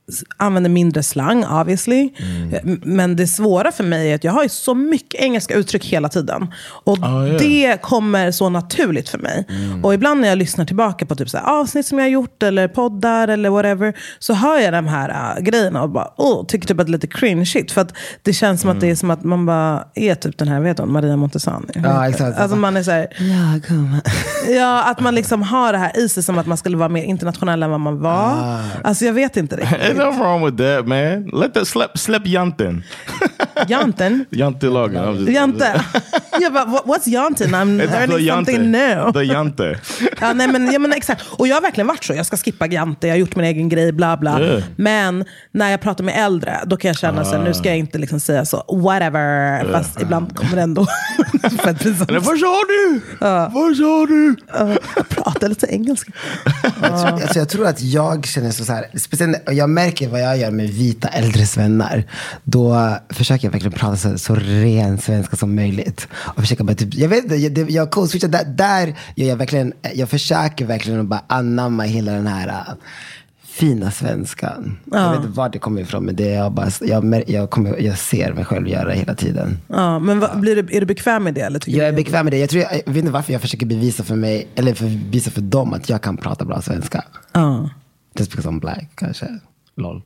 använder mindre slang, obviously. Mm. Men det svåra för mig är att jag har ju så mycket engelska uttryck hela tiden. Och oh, yeah. det kommer så naturligt för mig. Mm. Och ibland när jag lyssnar tillbaka på typ så här avsnitt som jag har gjort eller poddar eller whatever, så hör jag de här uh, grejerna och bara, oh, tycker typ att det är lite cringe shit. För att det känns som mm. att det är som att man bara är typ den här, vet du, Maria Montesani. Ja, exakt. Alltså man är så här, ja, kom. ja, att man liksom har det här i sig som att man skulle vara mer internationell än vad man var. Ah. Alltså jag vet inte riktigt. Ain't nothing wrong with that, man. Let that slap, slap janten. Janten? Jantelagen. Jante. Ja, but what's janten? I'm It's learning something new. The jante. Ja, nej, men, ja, men exakt. Och jag har verkligen varit så. Jag ska skippa jante, jag har gjort min egen grej, bla bla. Yeah. Men när jag pratar med äldre, då kan jag känna så, uh. nu ska jag inte liksom säga så, whatever. Yeah. Fast ibland kommer det ändå. För att precis, vad sa du? Uh. Vad sa du? Uh, jag pratar lite engelska. Uh. Alltså, jag tror att jag känner så, så här, speciellt, och jag märker vad jag gör med vita äldres vänner. Då försöker jag verkligen prata så, så ren svenska som möjligt. Och försöka bara typ, jag vet inte, jag, jag cool switchar där, där gör jag verkligen, jag försöker verkligen att bara anamma hela den här uh, fina svenskan. Ja. Jag vet inte var det kommer ifrån, men det är jag bara, jag, jag, kommer, jag ser mig själv göra hela tiden. Ja, men vad, blir du, är du bekväm med det? Eller jag är bekväm med det. Jag, tror jag, jag vet inte varför jag försöker bevisa för mig, eller för, bevisa för dem att jag kan prata bra svenska. Ja. Just because I'm black, kanske. Lol.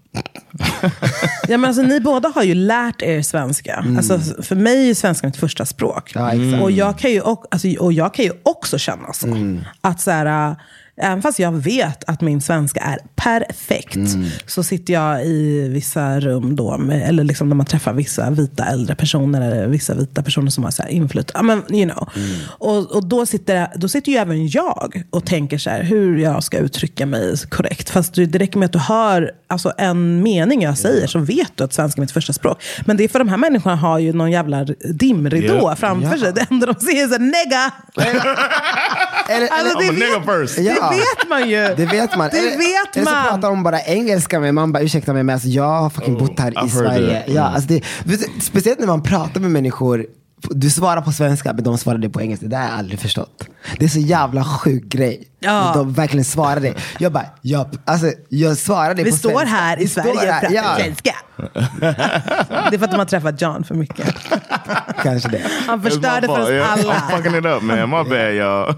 Ja, men alltså, ni båda har ju lärt er svenska. Mm. Alltså, för mig är svenska mitt första språk. Ja, exakt. Och, jag kan ju, alltså, och jag kan ju också känna så. Mm. Att så här, även fast jag vet att min svenska är perfekt, mm. så sitter jag i vissa rum då med, eller liksom när man träffar vissa vita äldre personer eller vissa vita personer som har så här inflyt, I mean, you know. Mm. och, och då sitter då sitter ju även jag och tänker så här, hur jag ska uttrycka mig korrekt, fast det räcker med att du hör alltså en mening jag säger, yeah. så vet du att svenska är mitt första språk. Men det är för de här människorna har ju någon jävla dimridå yeah. framför yeah. sig. Det enda de ser är så nega. Eller, alltså, det, vet, ja. det vet man ju. Det vet man. Det eller, vet eller man. så pratar de bara engelska med man bara, ursäkta mig, men alltså, jag har fucking bott här oh, i Sverige. Ja, alltså det, speciellt när man pratar med människor, du svarar på svenska men de svarar det på engelska. Det har jag aldrig förstått. Det är så jävla sjuk grej. Ja. De verkligen svarar det. Jag bara, ja, alltså, jag svarar det Vi på står svenska. här i Sverige och pratar ja. svenska. Det är för att de har träffat John för mycket. Kanske det. Han förstörde för oss yeah. alla. I'm fucking it up, man. My bad, y'all.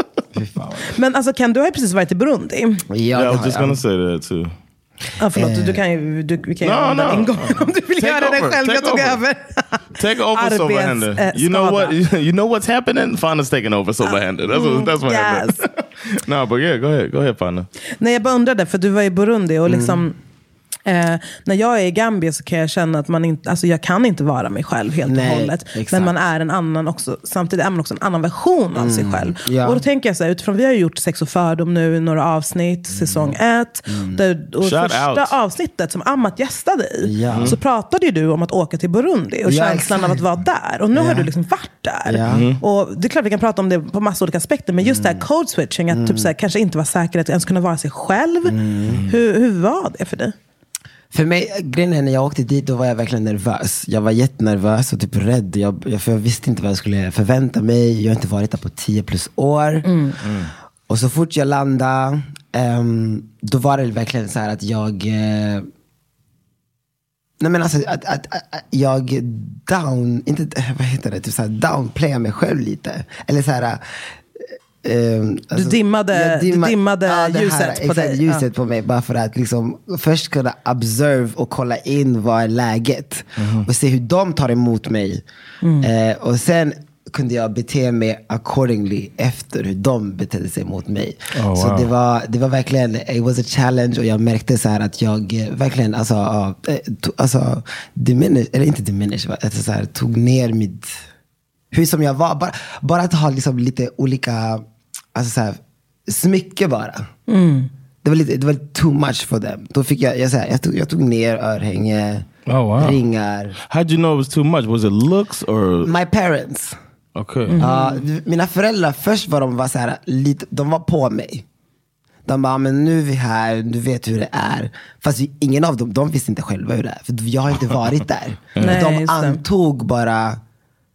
Men alltså, Ken, du har ju precis varit i Burundi. Ja, yeah, I was just gonna say that too. Ja, förlåt, uh, du kan ju du, vi kan ju no, no. en gång om du vill Take göra over. det själv. Take jag tog over. över. Take over Arbets, Silverhander. uh, You know what? You know what's happening? Fanna's taking over Silverhander. That's what, that's what yes. happened. No, but yeah, go ahead. Go ahead, Fanna. Nej, jag bara undrade, för du var i Burundi och liksom mm. Eh, när jag är i Gambia så kan jag känna att man inte, alltså jag kan inte vara mig själv helt Nej, och hållet. exakt. Men man är en annan också, samtidigt är man också en annan version av mm, sig själv. ja. Och då tänker jag så här, utifrån vi har gjort Sex och fördom nu i några avsnitt, mm. säsong ett. Mm. Där, och Shout första out. avsnittet som Amat gästade i, ja. så pratade ju du om att åka till Burundi och ja, känslan exakt. av att vara där. Och nu ja. har du liksom varit där. Ja. Mm. Och det är klart vi kan prata om det på massa olika aspekter, men just mm. det här code switching, att mm. typ så här, kanske inte vara säker att ens kunna vara sig själv. Mm. Hur, hur var det för dig? För mig, grejen är, när jag åkte dit, då var jag verkligen nervös. Jag var jättenervös och typ rädd. Jag, jag, för jag visste inte vad jag skulle förvänta mig. Jag har inte varit där på tio plus år. Mm. Mm. Och så fort jag landade, um, då var det verkligen så här att jag... Uh, nej men alltså, att, att, att, att jag down... Inte, vad heter det? Typ så här, downplayar mig själv lite. Eller så här... Um, alltså, du dimmade, dimma, du dimmade ja, ljuset här, på dig. Ljuset ja. på mig, bara för att liksom först kunna observe och kolla in vad är läget mm. och se hur de tar emot mig. Mm. Eh, och sen kunde jag bete mig accordingly efter hur de betedde sig mot mig. Oh, så wow. det var det var verkligen, it was a challenge, och jag märkte så här att jag eh, verkligen alltså, uh, to, alltså diminish, eller inte diminish, alltså, så här, tog ner mitt hur som jag var, bara, bara att ha liksom lite olika, alltså så här, smycke bara. Mm. Det var lite, det var lite too much for them. Då fick jag, jag, så här, jag, tog, jag tog ner örhänge, oh, wow. ringar. How'd you know it was too much? Was it looks or? My parents. Okay. Mm. Uh, mina föräldrar, först var de var så här, lite, de var på mig. De bara, men nu är vi här, du vet hur det är. Fast vi, ingen av dem, de visste inte själva hur det är. För jag har inte varit där. Nej, de antog bara...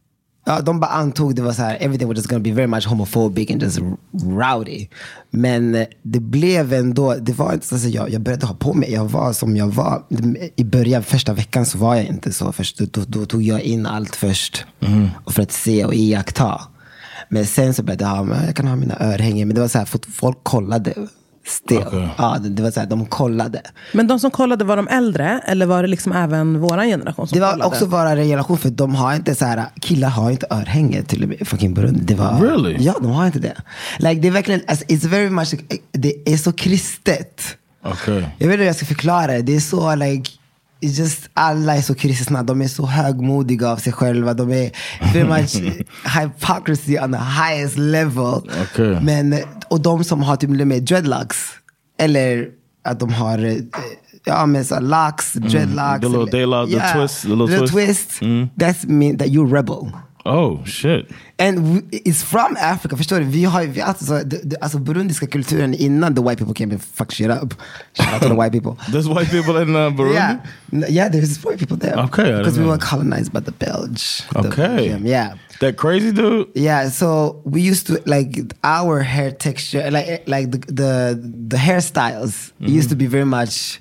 Ja, de bara antog det var så här, everything was just gonna be very much homophobic and just rowdy. Men det blev ändå, det var inte så att jag, jag började ha på mig, jag var som jag var. I början, första veckan så var jag inte så. Först, då, då tog jag in allt först mm. och för att se och iaktta. Men sen så började jag ha, jag kan ha mina örhängen. Men det var så här, folk kollade still. Okay. Ja, det, det var så här, de kollade. Men de som kollade, var de äldre? Eller var det liksom även våran generation som det var kollade? Också våra generation, för de har inte så här, killar har inte örhänge till och med fucking Burundi. Det var, really? Ja, de har inte det. Like, det är verkligen, alltså, it's very much, det är så kristet. Okay. Jag vet inte hur jag ska förklara det. Det är så like, it's just, alla är så kristna. De är så högmodiga av sig själva. De är very much hypocrisy on the highest level. Okay. Men, och de som har typ med dreadlocks, eller att de har ja, men så locks, dreadlocks, mm. the little daylock, yeah, the twist, the little, little twist, twist mm. that's mean that you're rebel. Oh shit. And we, it's from Africa, förstår du? Vi har vi alltså, the, the, alltså burundiska kulturen innan the white people came and fuck shit up. Shout out to the white people. There's white people in uh, Burundi? Yeah. Yeah, there's white people there. Okay. Because we were colonized by the Belge. Okay. The, yeah. That crazy dude? Yeah, so we used to, like, our hair texture, like like the the, the hairstyles mm-hmm. used to be very much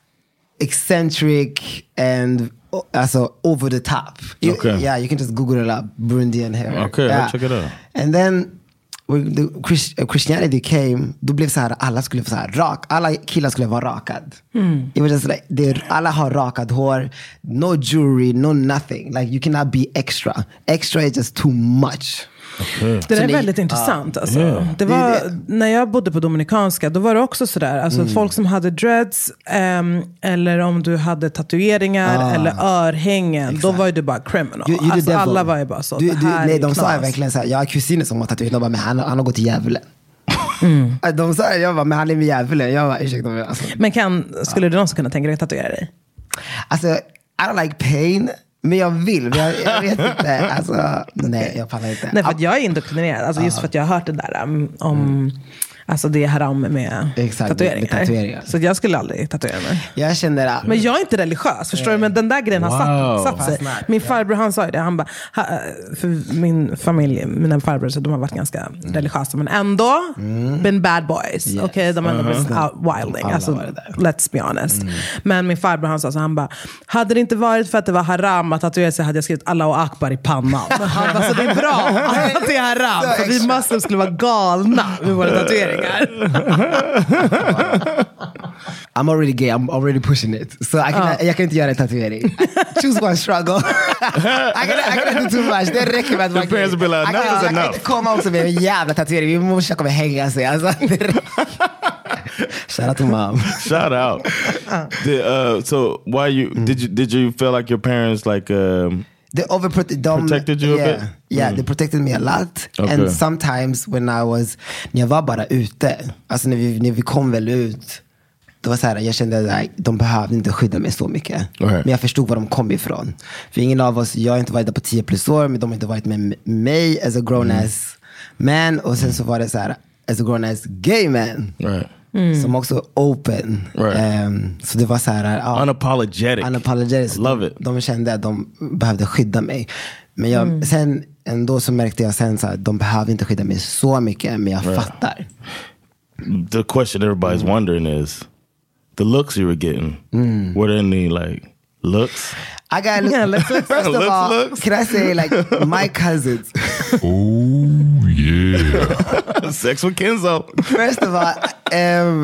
eccentric and also over the top. You, okay. Yeah, you can just Google it up, Burundian hair. Okay, yeah. I'll check it out. And then when the Christ, uh, Christianity came, då blev så här, alla skulle vara så här rak, alla killar skulle vara rakad. Mm. It was just like, they, alla har rakad hår, no jewelry, no nothing. Like, you cannot be extra. Extra is just too much. Okay. Det där är väldigt uh, intressant alltså. yeah. Det var, det, det. När jag bodde på Dominikanska, då var det också sådär, alltså mm. folk som hade dreads um, eller om du hade tatueringar ah. eller örhängen, exakt. Då var ju du bara criminal. You, you alltså, alla var ju bara så, du, det här du, nej, är de knas. sa verkligen såhär, jag har kusiner som har tatuerat, de bara, men han, han har gått till djävulen. Mm. De sa, jag bara, men han är med djävulen. Jag bara, ursäkta mig alltså. Men kan, skulle ja. du någonsin kunna tänka dig att tatuera dig? Alltså, I don't like pain. Men jag vill, men jag, jag vet inte. Alltså, nej, jag pallar inte. Nej, för att jag är indoktrinerad. Alltså, just för att jag har hört det där um, om... Mm. Alltså det är haram med, exakt, tatueringar. med tatueringar. Så jag skulle aldrig tatuera mig. Jag känner att... Men jag är inte religiös, förstår du? Men den där grejen wow. har satt, satt sig. Min farbror, han sa ju det. Han bara, för min familj, mina farbror, så de har varit ganska mm. religiösa. Men ändå, mm. been bad boys. Yes. Okej, okay, de har ändå uh-huh. out wilding. Alltså, let's be honest. Mm. Men min farbror, han sa så, han bara, hade det inte varit för att det var haram att tatuera sig, hade jag skrivit Allahu Akbar i pannan. Han bara, så det är bra att det är haram. För vi måste skulle vara galna med våra tatueringar. I'm already gay, I'm already pushing it. So I can, uh. jag kan inte göra en tatuering. Choose one struggle. I can I do too much. Det räcker med att vara gay. Like, enough I kan inte komma också med en jävla tatuering. Vi måste komma hänga sig. Alltså, shout out to mom. Shout out. Did, uh, so why you mm. did you did you feel like your parents like um they overprotected them, protected you yeah, a bit? Yeah, mm. they protected me a lot. Okay. And sometimes when I was, när jag var bara ute, alltså när vi, när vi kom väl ut, det var så här, jag kände att de behövde inte skydda mig så mycket. Okay. Men jag förstod var de kom ifrån. För ingen av oss, jag har inte varit där på tio plus år, men de har inte varit med mig as a grown mm. ass man. Och sen så var det så här, as a grown ass gay man. Right. Mm. Som också open. Right. Um, så det var så här, uh, unapologetic. Unapologetic. Love it. De, de kände att de behövde skydda mig. Men jag, mm. sen ändå så märkte jag sen så här, de behöver inte skydda mig så mycket, men jag right. fattar. The question everybody's mm. wondering is the looks you were getting. Mm. Were there any like looks? I got look, yeah, look, look, first of looks, all, looks. Can I say like my cousins? Oh yeah, sex with Kenzo. First of all, um,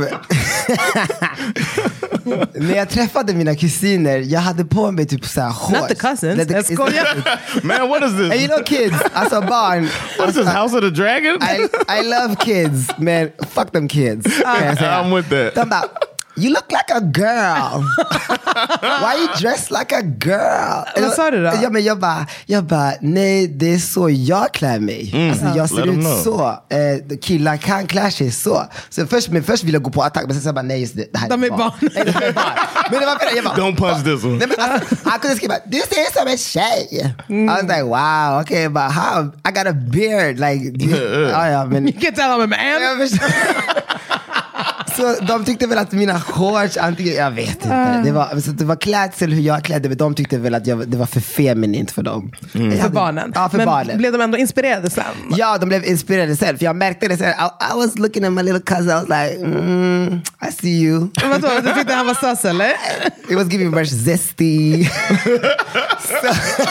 när jag träffade mina kusiner, jag hade på mig typ så här hårs. Not the cousins. Let's go. Man, what is this? And you know kids, alltså barn. What is this, House of the Dragon? I, I love kids, man. Fuck them kids. Uh, I'm with that. De bara, you look like a girl. Why you dressed like a girl? Vad sa du då? Ja, men jag bara, jag bara, nej, det är så jag klär mig. Mm. Alltså, jag ser ut så. Eh, killar kan klä sig så. Så först, men först ville jag gå på attack, men sen så bara, nej, just det, det här de är barn. Nej, de är barn. Men det var jag bara, don't punch this one. Nej, men alltså, han kunde skriva, du ser som en tjej. Mm. I was like, wow, okay, but how? I got a beard. Like, du, yeah, yeah. Oh, ja, men, you can tell I'm a man. Så de tyckte väl att mina shorts, antingen, jag vet inte. Uh. Det var, så det var klädsel hur jag klädde, men de tyckte väl att jag, det var för feminint för dem. Mm. För hade, barnen? Ja, för men barnen. Blev de ändå inspirerade sen? Ja, de blev inspirerade sen. För jag märkte det sen. I, I was looking at my little cousin, I was like, mm, I see you. Vad då? Du tyckte han var sass, eller? It was giving me zesty. So,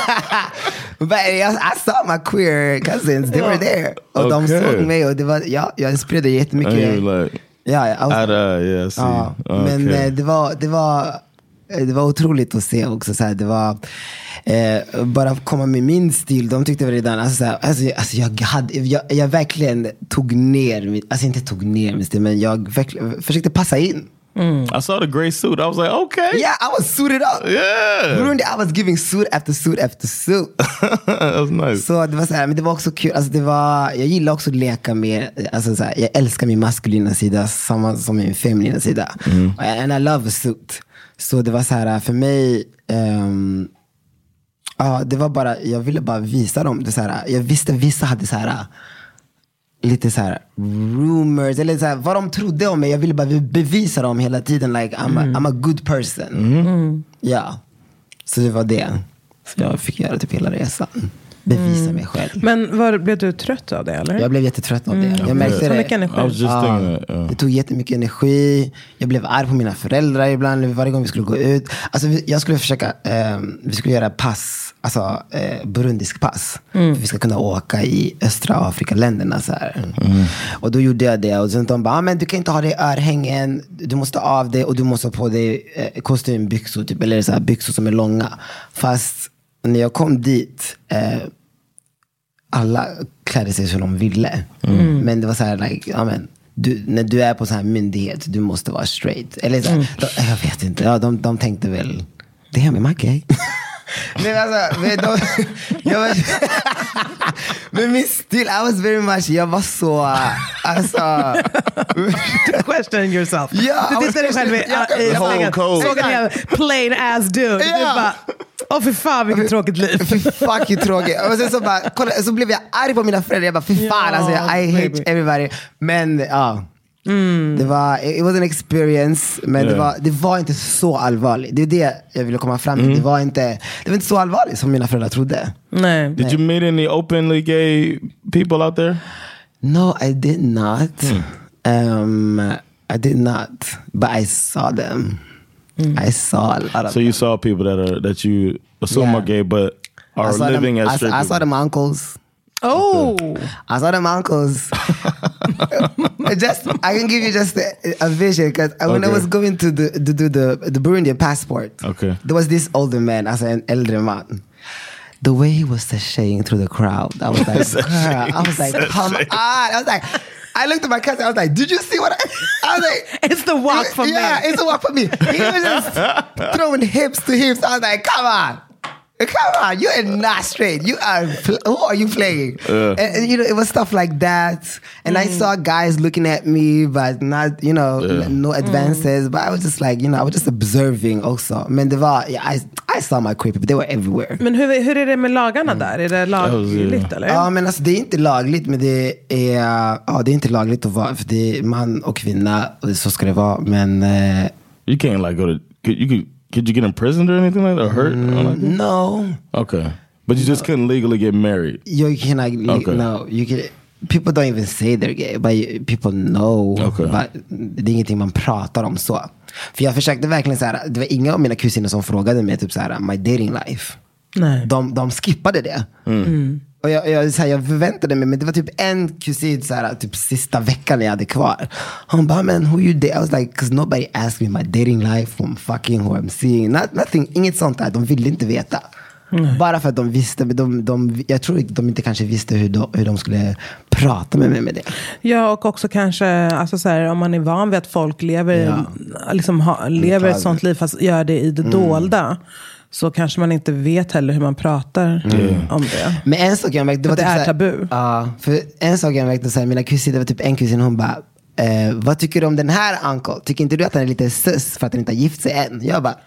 but I, I saw my queer cousins, they were there. Och okay. de såg mig och det var, ja, jag inspirerade jättemycket. Like, ja, jag was, uh, yeah, ja, okay. Men eh, det var, det var det var otroligt att se också så här, det var eh, bara komma med min stil. De tyckte väl redan alltså, så här, alltså, alltså jag hade jag, jag verkligen tog ner alltså inte tog ner min stil, men jag verkligen försökte passa in. Mm. I saw the gray suit. I was like, okay. Yeah, I was suited up. Yeah. Burundi, I was giving suit after suit after suit. That was nice. Så det var så här, men det var också kul. Alltså det var, jag gillar också att leka med, alltså så här, jag älskar min maskulina sida samma som min feminina sida. Mm. And I love a suit. Så det var så här för mig, um, ja, det var bara, jag ville bara visa dem. Det så här, jag visste vissa hade så här lite så här rumors eller så här, vad de trodde om mig. Jag ville bara bevisa dem hela tiden, like I'm, mm. a, I'm a good person. Mm. Ja, så det var det. Så jag fick göra typ hela resan. Bevisa mm. mig själv. Men var, blev du trött av det eller? Jag blev jättetrött av det. Mm. Jag märkte det. Energi. Ja, det tog jättemycket energi. Jag blev arg på mina föräldrar ibland varje gång vi skulle gå ut. Alltså jag skulle försöka eh, vi skulle göra pass, alltså eh, burundisk pass. Mm. För vi ska kunna åka i östra Afrika-länderna så här. Mm. Och då gjorde jag det och sen de bara, ah, men du kan inte ha det i örhängen. Du måste av det och du måste ha på dig eh, kostymbyxor typ, eller så här byxor som är långa. Fast när jag kom dit eh, alla klädde sig som de ville. Mm. Men det var så här like, ja, men, du, när du är på så här myndighet, du måste vara straight. Eller så här, mm. de, jag vet inte, ja, de, de tänkte väl, damn, am I gay? Men alltså, men de, jag var, men min stil, I was very much, jag var så, alltså question yourself. Ja, du tittade själv i spegeln, såg en plain ass dude. Du bara, åh fy fan vilket tråkigt liv. Fy fucking tråkigt. Och sen så bara, kolla, så blev jag arg på mina föräldrar. Jag bara, fy fan, alltså, I hate baby. everybody. Men ja, mm. det var, it was an experience. Men yeah. det, var, det var inte så allvarligt. Det är det jag ville komma fram till. Mm. Det var inte, det var inte så allvarligt som mina föräldrar trodde. Nej. Did you meet any openly gay people out there? No, I did not. Mm. Um, I did not. But I saw them. Mm. I saw a lot of So you them. saw people that are that you assume yeah. are gay but are living them, as straight I, I people. saw them uncles. Oh, okay. I saw them uncles. Just I can give you just a, a vision because when okay. I was going to the to do the the Burundian passport, okay, there was this older man, as an elder man. The way he was sashaying through the crowd, I was like, girl, I was like, come on. I was like, I looked at my cousin, I was like, did you see what I, I was like, it's the walk for yeah, me. Yeah, it's the walk for me. He was just throwing hips to hips. I was like, come on. Come on, you are not straight. You are, who are you playing? Uh. And, and, you know, it was stuff like that. And mm. I saw guys looking at me, but not, you know, yeah. no advances. Mm. But I was just like, you know, I was just observing also. Men det var, yeah, I, I saw my queer people, they were everywhere. Men hur, hur är det med lagarna mm. där? Är det lagligt eller? Ja, men alltså det är inte lagligt, men det är, ja, det är inte lagligt att vara, för det är man och kvinna, och så ska det vara, men... Uh, you can't like go to, you could, could you get imprisoned or anything like that, or hurt? Mm, like that? No. Okay. But you just no. couldn't legally get married? You cannot, okay. no. You can, people don't even say they're gay, but people know. Okay. But det är ingenting man pratar om så. För jag försökte verkligen så här, det var inga av mina kusiner som frågade mig typ så här, my dating life. Nej. De, de skippade det. Mm. Mm. Och jag, jag, så här, jag förväntade mig, men det var typ en kusin så här, typ sista veckan jag hade kvar. Han bara, men who you date? I was like, because nobody asked me my dating life, who I'm fucking, who I'm seeing. Not, nothing, inget sånt där. De ville inte veta. Mm. Bara för att de visste, men de, de, jag tror att de inte kanske visste hur de, hur de skulle prata med mig med det. Ja, och också kanske, alltså så här, om man är van vid att folk lever, ja. liksom, ha, lever ett sånt liv fast gör det i det mm. dolda. Så kanske man inte vet heller hur man pratar mm. om det. Men en sak jag märkte, det var det typ är såhär, tabu. Ja, för en sak jag märkte så här, mina kusiner, det var typ en kusin, hon bara, eh, vad tycker du om den här uncle? Tycker inte du att han är lite sus för att han inte har gift sig än? Jag bara,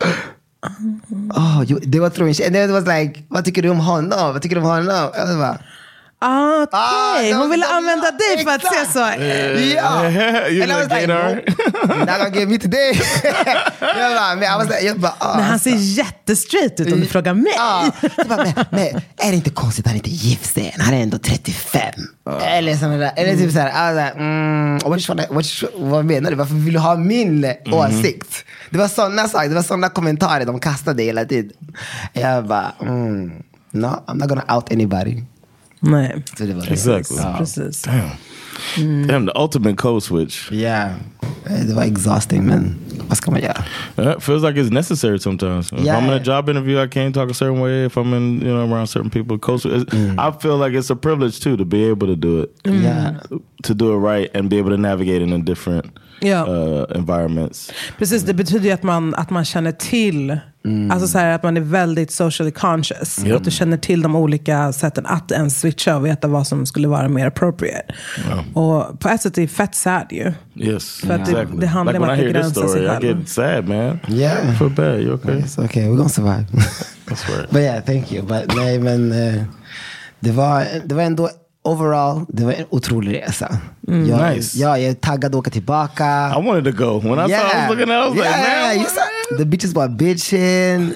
oh, det var tror jag. Det var like, vad tycker du om honom? Vad tycker du om honom? Jag bara, Ah, okej. Ah, Hon ville de- använda dig för att se så. Ja. You And I was like like, gaydar? nope, not gonna give me today. jag bara, men, I was like, jag bara, ah, Men han ser jättestraight ut om du frågar mig. Ja, jag bara, men, men är det inte konstigt att han inte gift sig än? Han är ändå trettiofem. Eller sådana där. Eller typ såhär, alltså, mm, what, what, what, vad menar du? Varför vill du ha min mm. åsikt? Det var sådana saker, det var sådana kommentarer de kastade hela tiden. Jag bara, mm, no, I'm not gonna out anybody. Nej. Så det var Exactly. Ja. Precis. Damn. Mm. Damn, the ultimate code switch. Yeah. Det var exhausting, men vad ska man göra? Yeah, it feels like it's necessary sometimes. If Yeah. I'm in a job interview, I can't talk a certain way. If I'm in, you know, around certain people, code switch. Mm. I feel like it's a privilege too to be able to do it. Mm. Yeah. To do it right and be able to navigate in a different Ja. uh, environments. Precis, det betyder ju att man, att man känner till, Mm. alltså så här, att man är väldigt socially conscious. Yep. Att du känner till de olika sätten att ens switcha och veta vad som skulle vara mer appropriate. Yeah. Och på ett sätt är det fett sad ju. Yes, För att det, exactly. det handlar Like om when att I hear this begränsa sig story, I själv. get sad, man. Yeah. I feel bad. You okay? It's okay, we're gonna survive. That's right. But yeah, thank you. But nej, men uh, det var, det var ändå overall, det var en otrolig resa. Mm, jag, nice. Ja, jag är taggad att åka tillbaka. I wanted to go. When I saw I was looking at it, I was like, yeah, man. you saw, the bitches were bitching.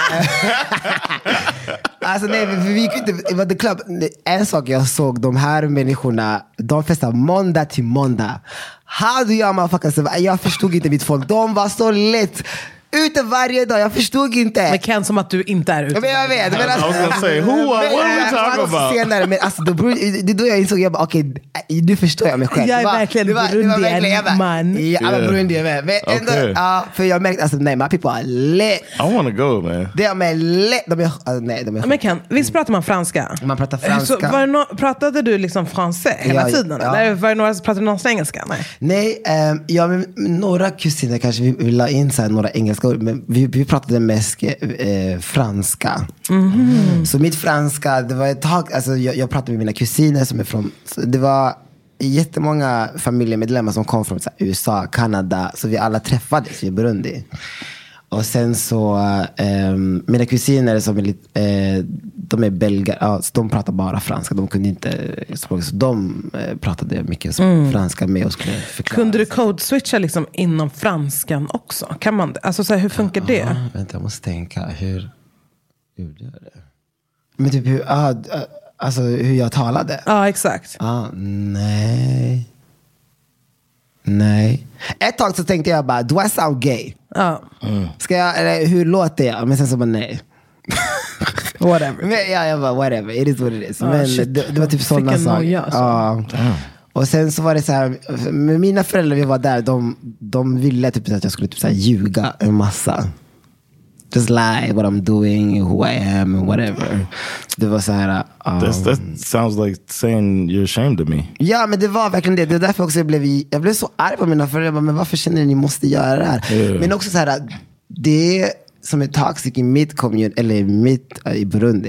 Alltså nej, för vi kunde inte, det var the club. En sak jag såg, de här människorna, de festar måndag till måndag. How do you motherfuckers survive? Jag förstod inte mitt folk. De var så lätt ute varje dag, jag förstod inte. Men kan som att du inte är ute. Men jag vet, men alltså, I was gonna say, who, uh, what are we talking about? Senare, men alltså, då, det är då jag insåg, jag bara, okej, okay, nu förstår jag mig själv. Jag är Det var- verkligen det var- det var verkligen- jag bara, Burundian man. Ja, jag var Yeah. Burundian med. Men ändå, Okay. ja, för jag märkte, alltså nej, my people are lit. I want to go, man. De är lit. De är, alltså, nej, de är Men Ken, visst pratar man franska? Man pratar Så franska. var det no- pratade du liksom fransé hela Ja, tiden? ja. Eller var det några, pratade du någonsin engelska? Nej. Nej, um, ja, men några kusiner kanske vi, vi la in så här, några engelska ord, men vi, vi pratade mest eh, franska. Mm-hmm. Så mitt franska, det var ett tag, alltså jag, jag pratade med mina kusiner som är från, så det var jättemånga familjemedlemmar som kom från så här, U S A, Kanada, så vi alla träffades i Burundi. Och sen så um, mina kusiner som är lite, eh, de är belgare, ja, så de pratar bara franska, de kunde inte språk, så de eh, pratade mycket Mm. franska med och skulle förklara. Kunde du code-switcha liksom inom franskan också? Kan man det? Alltså så här, hur funkar det? Ja, vänta, jag måste tänka hur hur gör det? Men typ hur, ah, alltså hur jag talade. Ja, exakt. Ah, nej. Nej. Ett tag så tänkte jag bara, do I sound gay? Ja. Ska jag, eller hur låter jag? Men sen så bara nej. Whatever. Men, ja, jag bara whatever, it is what it is. Ah, Men shit. det, det var typ sådana Fick en saker. noja, alltså. Ja. Och sen så var det så här, med mina föräldrar, vi var där, de, de ville typ att jag skulle typ så här ljuga en massa. Just lie what I'm doing, who I am and whatever. Det var så här um, That's, that sounds like saying you're ashamed of me. ja, men det var verkligen det. Det är därför också jag blev jag blev så arg på mina föräldrar. Men varför känner ni att ni måste göra det här? Yeah. Men också så här, det som är toxic i mitt kommun, eller mitt i Burundi,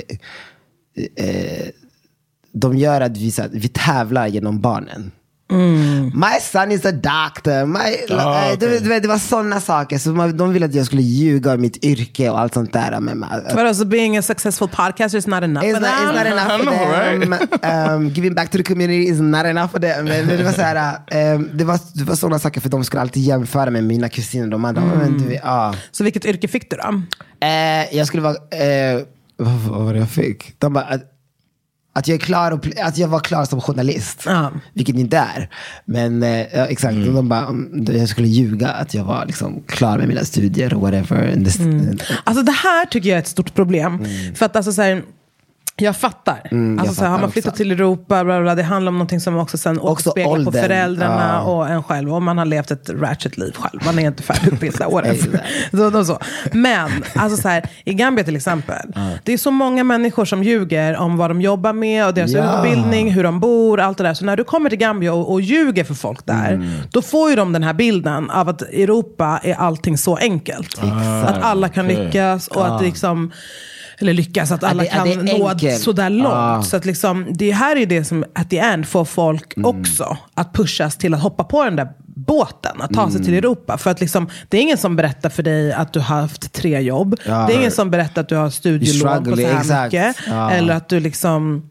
eh, de gör att vi, så här, vi tävlar genom barnen. Mm. My son is a doctor. My, Ah, eh, okay. det, det, det var sådana saker. Så man, de ville att jag skulle ljuga om mitt yrke och allt sånt där. Men, man, But also being a successful podcaster is not enough It's for not, them. it's not enough I for know, them. Um, giving back to the community is not enough for them. Men, men det var så här, um, det var, det var sådana saker, för de skulle alltid jämföra med mina kusiner. De andra, Mm. men du vet, ah. Så vilket yrke fick du då? Eh, jag skulle vara, eh, vad, vad var det jag fick? De bara, att, att jag är klar och, att jag var klar som journalist. Ja. Vilket inte är. Men eh, ja, exakt, Mm. de bara, om jag skulle ljuga att jag var liksom klar med mina studier och whatever. And this, Mm. Alltså det här tycker jag är ett stort problem. För att alltså så här, jag fattar. Mm, alltså, jag så här, har fattar man flyttat också. till Europa, bla, bla, det handlar om någonting som också sen Också återspeglar på åldern. föräldrarna Ja. och en själv. Och man har levt ett ratchet liv själv. Man är inte färdigutbildad. whatever. Exakt. så, så, så. Men alltså, så här, i Gambia till exempel. Det är så många människor som ljuger om vad de jobbar med och deras Ja. utbildning, hur de bor, allt det där. Så när du kommer till Gambia och, och ljuger för folk där, Mm. då får ju de den här bilden av att Europa är allting så enkelt. Att alla kan okej. lyckas och att liksom, eller lyckas, att alla det- att kan det är nå enkelt. sådär långt. Ah. Så att liksom, det här är det som at the end får folk också att pushas till att hoppa på den där båten, att ta sig till Europa. För att liksom, det är ingen som berättar för dig att du har haft tre jobb. Ja. Det är ingen som berättar att du har studielån på så struggling, här exakt. mycket. Ja. Eller att du liksom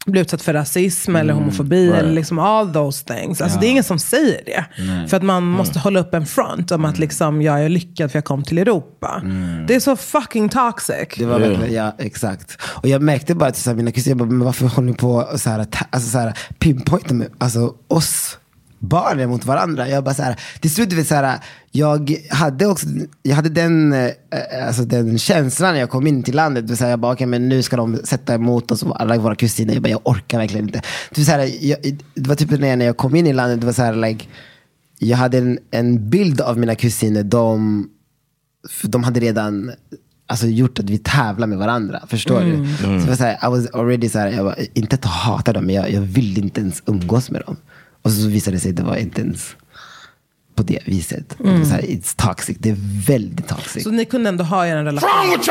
blir utsatt för rasism mm. eller homofobi right. eller liksom all those things. Alltså ja. det är ingen som säger det. Nej. För att man mm. måste hålla upp en front om mm. att liksom jag är lyckad för jag kom till Europa. Mm. Det är så fucking toxic. Det var verkligen, ja, exakt. Och jag märkte bara till mina kusiner, men varför håller ni på så här, alltså så här pinpointa med alltså oss barnen mot varandra. Jag bara så här, till slut vet så här, jag hade också jag hade den eh, alltså den känslan när jag kom in till landet, det så här, jag bara okej, men nu ska de sätta emot oss alla våra kusiner. Jag bara jag orkar verkligen inte. Det var så här, jag, det var typ när jag kom in i landet, det var så här like jag hade en, en bild av mina kusiner, de de hade redan alltså gjort att vi tävlar med varandra, förstår mm. du? Mm. Så det var så här, I was already så här, jag var inte att hata dem, men jag, jag ville inte ens umgås med dem. Och så visade det sig att det var inte ens på det viset. Mm. Det var så här, it's toxic. Det är väldigt toxic. Så ni kunde ändå ha er en relation?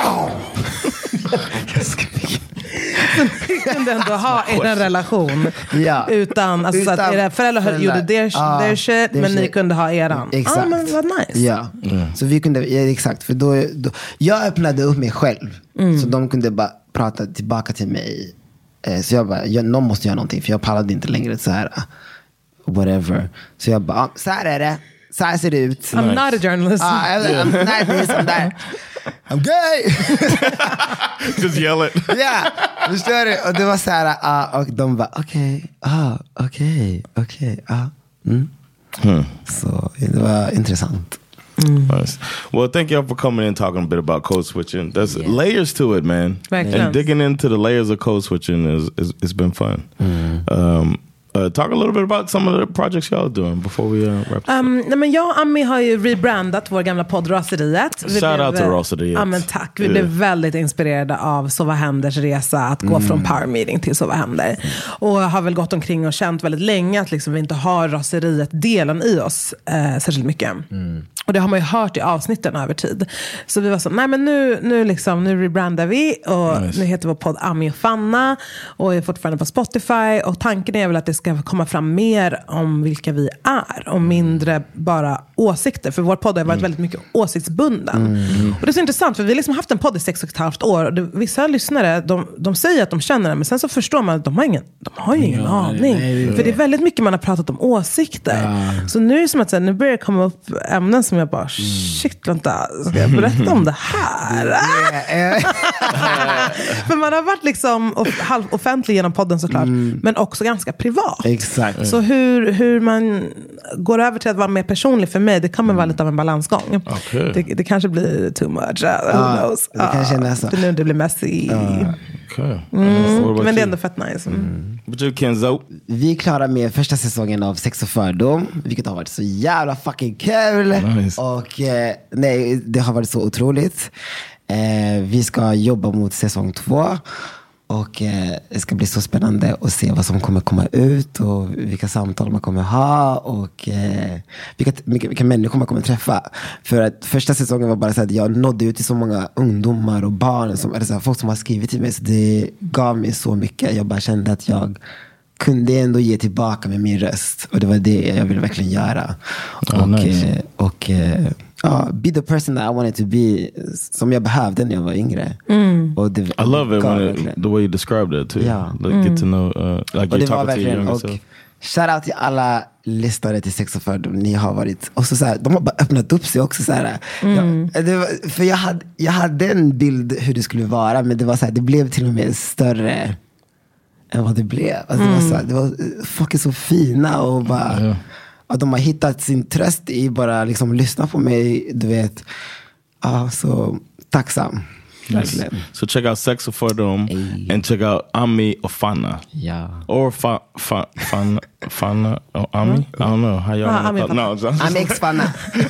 Så ni kunde ändå ha er en relation ja. utan, alltså, utan så att era föräldrar, föräldrar gjorde their, ah, their shit, men shit. Ni kunde ha eran. Exakt. Ah, men vad nice. Ja. Mm. Så vi kunde, ja, exakt. För då, då, jag öppnade upp mig själv. Mm. Så de kunde bara prata tillbaka till mig. Så jag bara, jag, någon måste göra någonting. För jag pallade inte längre så här... whatever. Så jag bara, så här är det. Så här ser det ut. I'm nice. Not a journalist. Uh, I'm, I'm not this, I'm that. I'm gay! Just yell it. Ja, yeah, förstår du? Och det var så här, uh, och de bara, okej, okay, ah, okej, okay, okej, okay, ah. Mm. Hmm. Så det var intressant. Mm. Nice. Well, thank y'all for coming in and talking a bit about code switching. There's yeah. layers to it, man. Right. And digging into the layers of code switching is, is it's been fun. Mm. Um, Uh, talk a little bit about some of the projects y'all are doing before we uh, wrap um, nej, men jag och Ami har ju rebrandat vår gamla podd Raseriet. Shout blev, out to Raseriet. Ja, men tack. Vi yeah. blev väldigt inspirerade av Så vad händers resa att gå mm. från power meeting till Så vad händer. Mm. Och har väl gått omkring och känt väldigt länge att liksom vi inte har Raseriet-delen i oss eh, särskilt mycket. Mm. Och det har man ju hört i avsnitten över tid. Så vi var så, nej men nu, nu, liksom, nu rebrandar vi. Och nice. Nu heter vår podd Ami och Fanna. Och är fortfarande på Spotify. Och tanken är väl att det ska komma fram mer om vilka vi är. Och mindre bara åsikter. För vår podd har varit mm. väldigt mycket åsiktsbunden. Mm. Och det är så intressant. För vi har liksom haft en podd i sex och ett halvt år. Och det, vissa lyssnare, de, de säger att de känner det. Men sen så förstår man att de har ingen, de har ju ingen ja, aning. Nej, nej, för det är väldigt mycket man har pratat om åsikter. Ja. Så nu är det som att så här, nu börjar det komma upp ämnen som jag bara, shit, vänta, ska jag berätta om det här? För man har varit liksom halv offentlig genom podden såklart, mm. men också ganska privat. Exakt. Så hur, hur man går över till att vara mer personlig för mig, det kommer mm. vara lite av en balansgång. Okay. Det, det kanske blir too much. Uh, who ah, knows? Det kanske är så. För nu det blir messy. Uh, okay. mm. uh, men det är ändå fett nice. Mm. Mm. Kenzo? Vi är klara med första säsongen av Sex och fördom, vilket har varit så jävla fucking kul. Nice. Och eh, nej, det har varit så otroligt. Eh, vi ska jobba mot säsong två. Och eh, det ska bli så spännande att se vad som kommer komma ut. Och vilka samtal man kommer ha. Och eh, vilka, vilka, vilka människor man kommer träffa. För att första säsongen var bara så att jag nådde ut till så många ungdomar och barn som, eller så här, folk som har skrivit till mig. Så det gav mig så mycket. Jag bara kände att jag kunde ändå ge tillbaka med min röst. Och det var det jag ville verkligen göra. Oh, och nice. eh, och eh, ja, be the person that I wanted to be, som jag behövde när jag var yngre. Mm. Och det, I love it, when it the way you described it too. Yeah. Like, mm. get to know, uh, like you're talking to your younger self. Shout out till alla lyssnare till Sex och fördom. Ni har varit, och så, så här, de har bara öppnat upp sig också så här. Mm. Jag, det var, för jag hade, jag hade en bild hur det skulle vara, men det var så här, det blev till och med större än vad det blev. Alltså, mm. det var så här, det var, folk är så fina och bara yeah. att de har hittat sin tröst i bara liksom lyssna på mig, du vet. Ja, så tacksam. Nice. So check out Sex och fördom hey. And check out Ami och Fanna. Yeah. Or fa, fa, Fanna, Fanna or Ami. Mm. I don't know how y'all uh, Ami, no, I'm ex Fanna.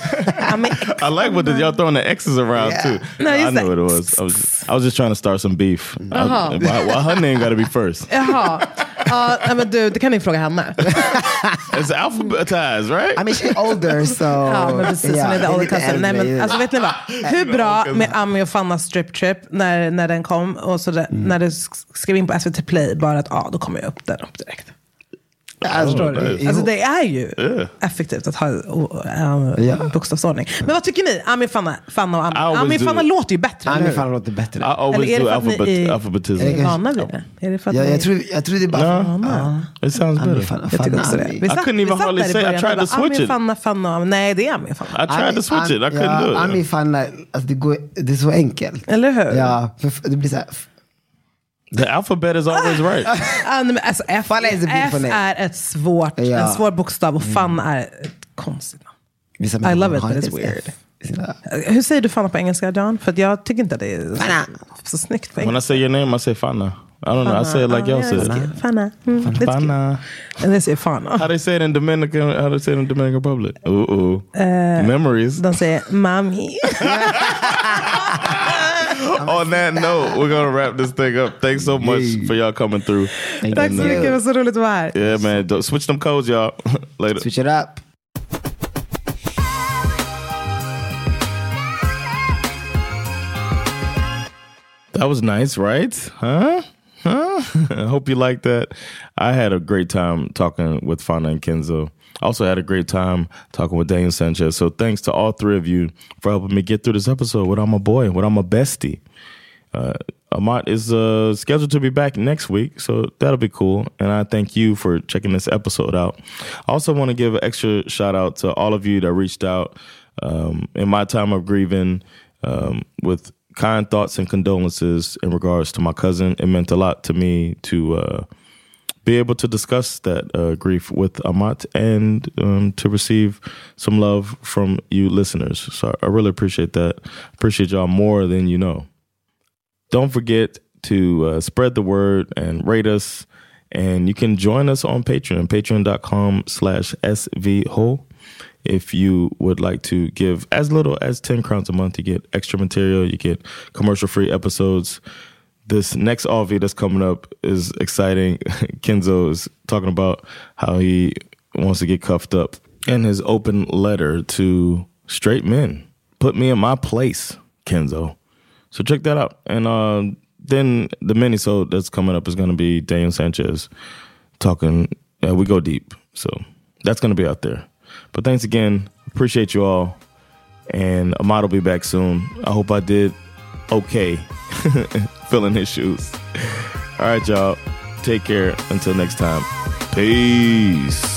I like what the, y'all throwing the X's around yeah. too. No, I knew what it was. I was I was just trying to start some beef. Uh-huh. I, why, why her name got to be first? Jaha. Ja, men du, det kan ni fråga henne. It's alphabetized, right? I mean, she's older, so... Ja, men precis. Yeah, hon är the older cousin. Nej, men alltså, vet ni vad? Hur bra med Ami och Fannas strip trip när, när den kom, och så där, mm. när det skrev in på S V T Play, bara att, ja, då kommer jag upp den upp direkt. Förstår du? Alltså det är ju yeah. effektivt att ha uh, yeah. bokstavsordning. Men vad tycker ni? Ami Fanna, Fanna och Ami. Ami Fanna låter ju bättre. Ami Fanna låter bättre. I always eller är do det för alphabet, ni alphabetism. är vana vid det? Är det för att ja, ni... jag, tror, jag tror det är bara... No, uh, it sounds Ami better. Fanna, Jag tycker också det. Vi satt, I couldn't even hardly say I tried to switch Ami it. Fanna, Fanna, Ami. Nej, det är Ami Fanna. I tried Ami, to switch Ami, it. I couldn't ja, do it. Ami Fanna, alltså det, går, det är så enkelt. Eller hur? Ja, för det blir så här... The alphabet is always right. Alltså F, F är ett svårt, ja. en svår bokstav och Fan är ett konstigt namn. I love it, but it's weird. F. Hur säger du Fanna på engelska, John? För jag tycker inte det är Fanna. så snyggt på engelska. When I say your name, I say Fanna. I don't know. I say it like y'all say it. Fanna. Mm, Fanna. And they say Fanna. How they say it in Dominican? How they say it in Dominican Republic? Ooh, ooh. Uh, Memories. De säger Mami. On that note, we're gonna wrap this thing up. Thanks so much yeah. for y'all coming through. Tack så mycket, det var så roligt att vara här. Yeah man, switch them codes y'all. Later. Switch it up. That was nice, right? Huh? Huh? I hope you liked that. I had a great time talking with Fanna and Kenzo. I also had a great time talking with Daniel Sanchez. So thanks to all three of you for helping me get through this episode without my boy, without my bestie. Uh, Amat is uh, scheduled to be back next week, so that'll be cool. And I thank you for checking this episode out. I also want to give an extra shout out to all of you that reached out um, in my time of grieving um, with kind thoughts and condolences in regards to my cousin. It meant a lot to me to uh, be able to discuss that uh, grief with Amat and um, to receive some love from you listeners. So I really appreciate that. Appreciate y'all more than you know. Don't forget to uh, spread the word and rate us. And you can join us on Patreon, patreon.com slash svho. If you would like to give as little as ten crowns a month, you get extra material, you get commercial-free episodes. This next O V that's coming up is exciting. Kenzo is talking about how he wants to get cuffed up. And his open letter to straight men. Put me in my place, Kenzo. So check that out. And uh, then the mini-sode that's coming up is going to be Daniel Sanchez talking. Uh, we go deep. So that's going to be out there. But thanks again. Appreciate you all. And Ahmad will be back soon. I hope I did okay filling his shoes. All right, y'all. Take care. Until next time. Peace.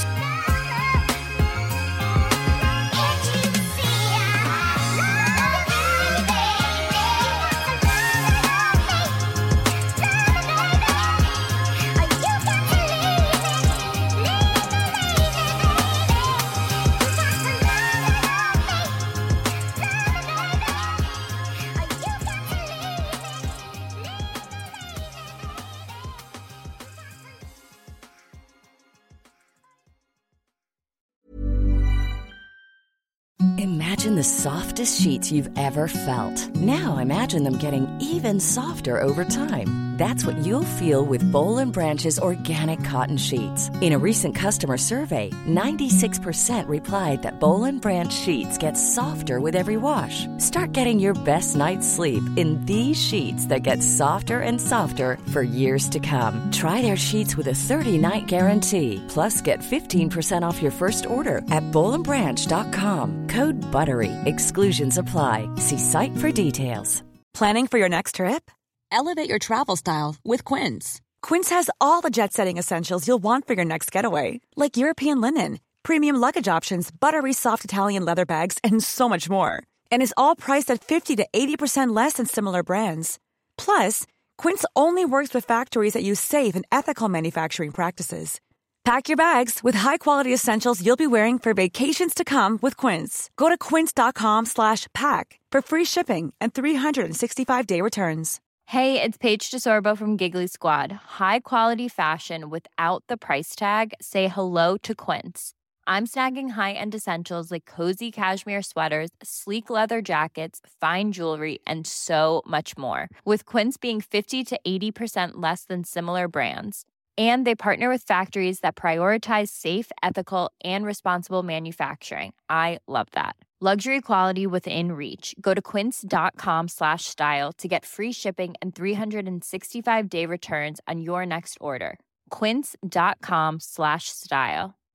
Imagine the softest sheets you've ever felt. Now imagine them getting even softer over time. That's what you'll feel with Boll and Branch's organic cotton sheets. In a recent customer survey, ninety-six percent replied that Boll and Branch sheets get softer with every wash. Start getting your best night's sleep in these sheets that get softer and softer for years to come. Try their sheets with a thirty-night guarantee. Plus, get fifteen percent off your first order at boll and branch dot com. Code BUTTERY. Exclusions apply. See site for details. Planning for your next trip? Elevate your travel style with Quince. Quince has all the jet-setting essentials you'll want for your next getaway, like European linen, premium luggage options, buttery soft Italian leather bags, and so much more. And is all priced at fifty to eighty percent less than similar brands. Plus, Quince only works with factories that use safe and ethical manufacturing practices. Pack your bags with high-quality essentials you'll be wearing for vacations to come with Quince. Go to quince.com slash pack for free shipping and three sixty-five day returns. Hey, it's Paige DeSorbo from Giggly Squad. High quality fashion without the price tag. Say hello to Quince. I'm snagging high-end essentials like cozy cashmere sweaters, sleek leather jackets, fine jewelry, and so much more. With Quince being fifty to eighty percent less than similar brands. And they partner with factories that prioritize safe, ethical, and responsible manufacturing. I love that. Luxury quality within reach. Go to quince.com slash style to get free shipping and three sixty-five day returns on your next order. quince.com slash style.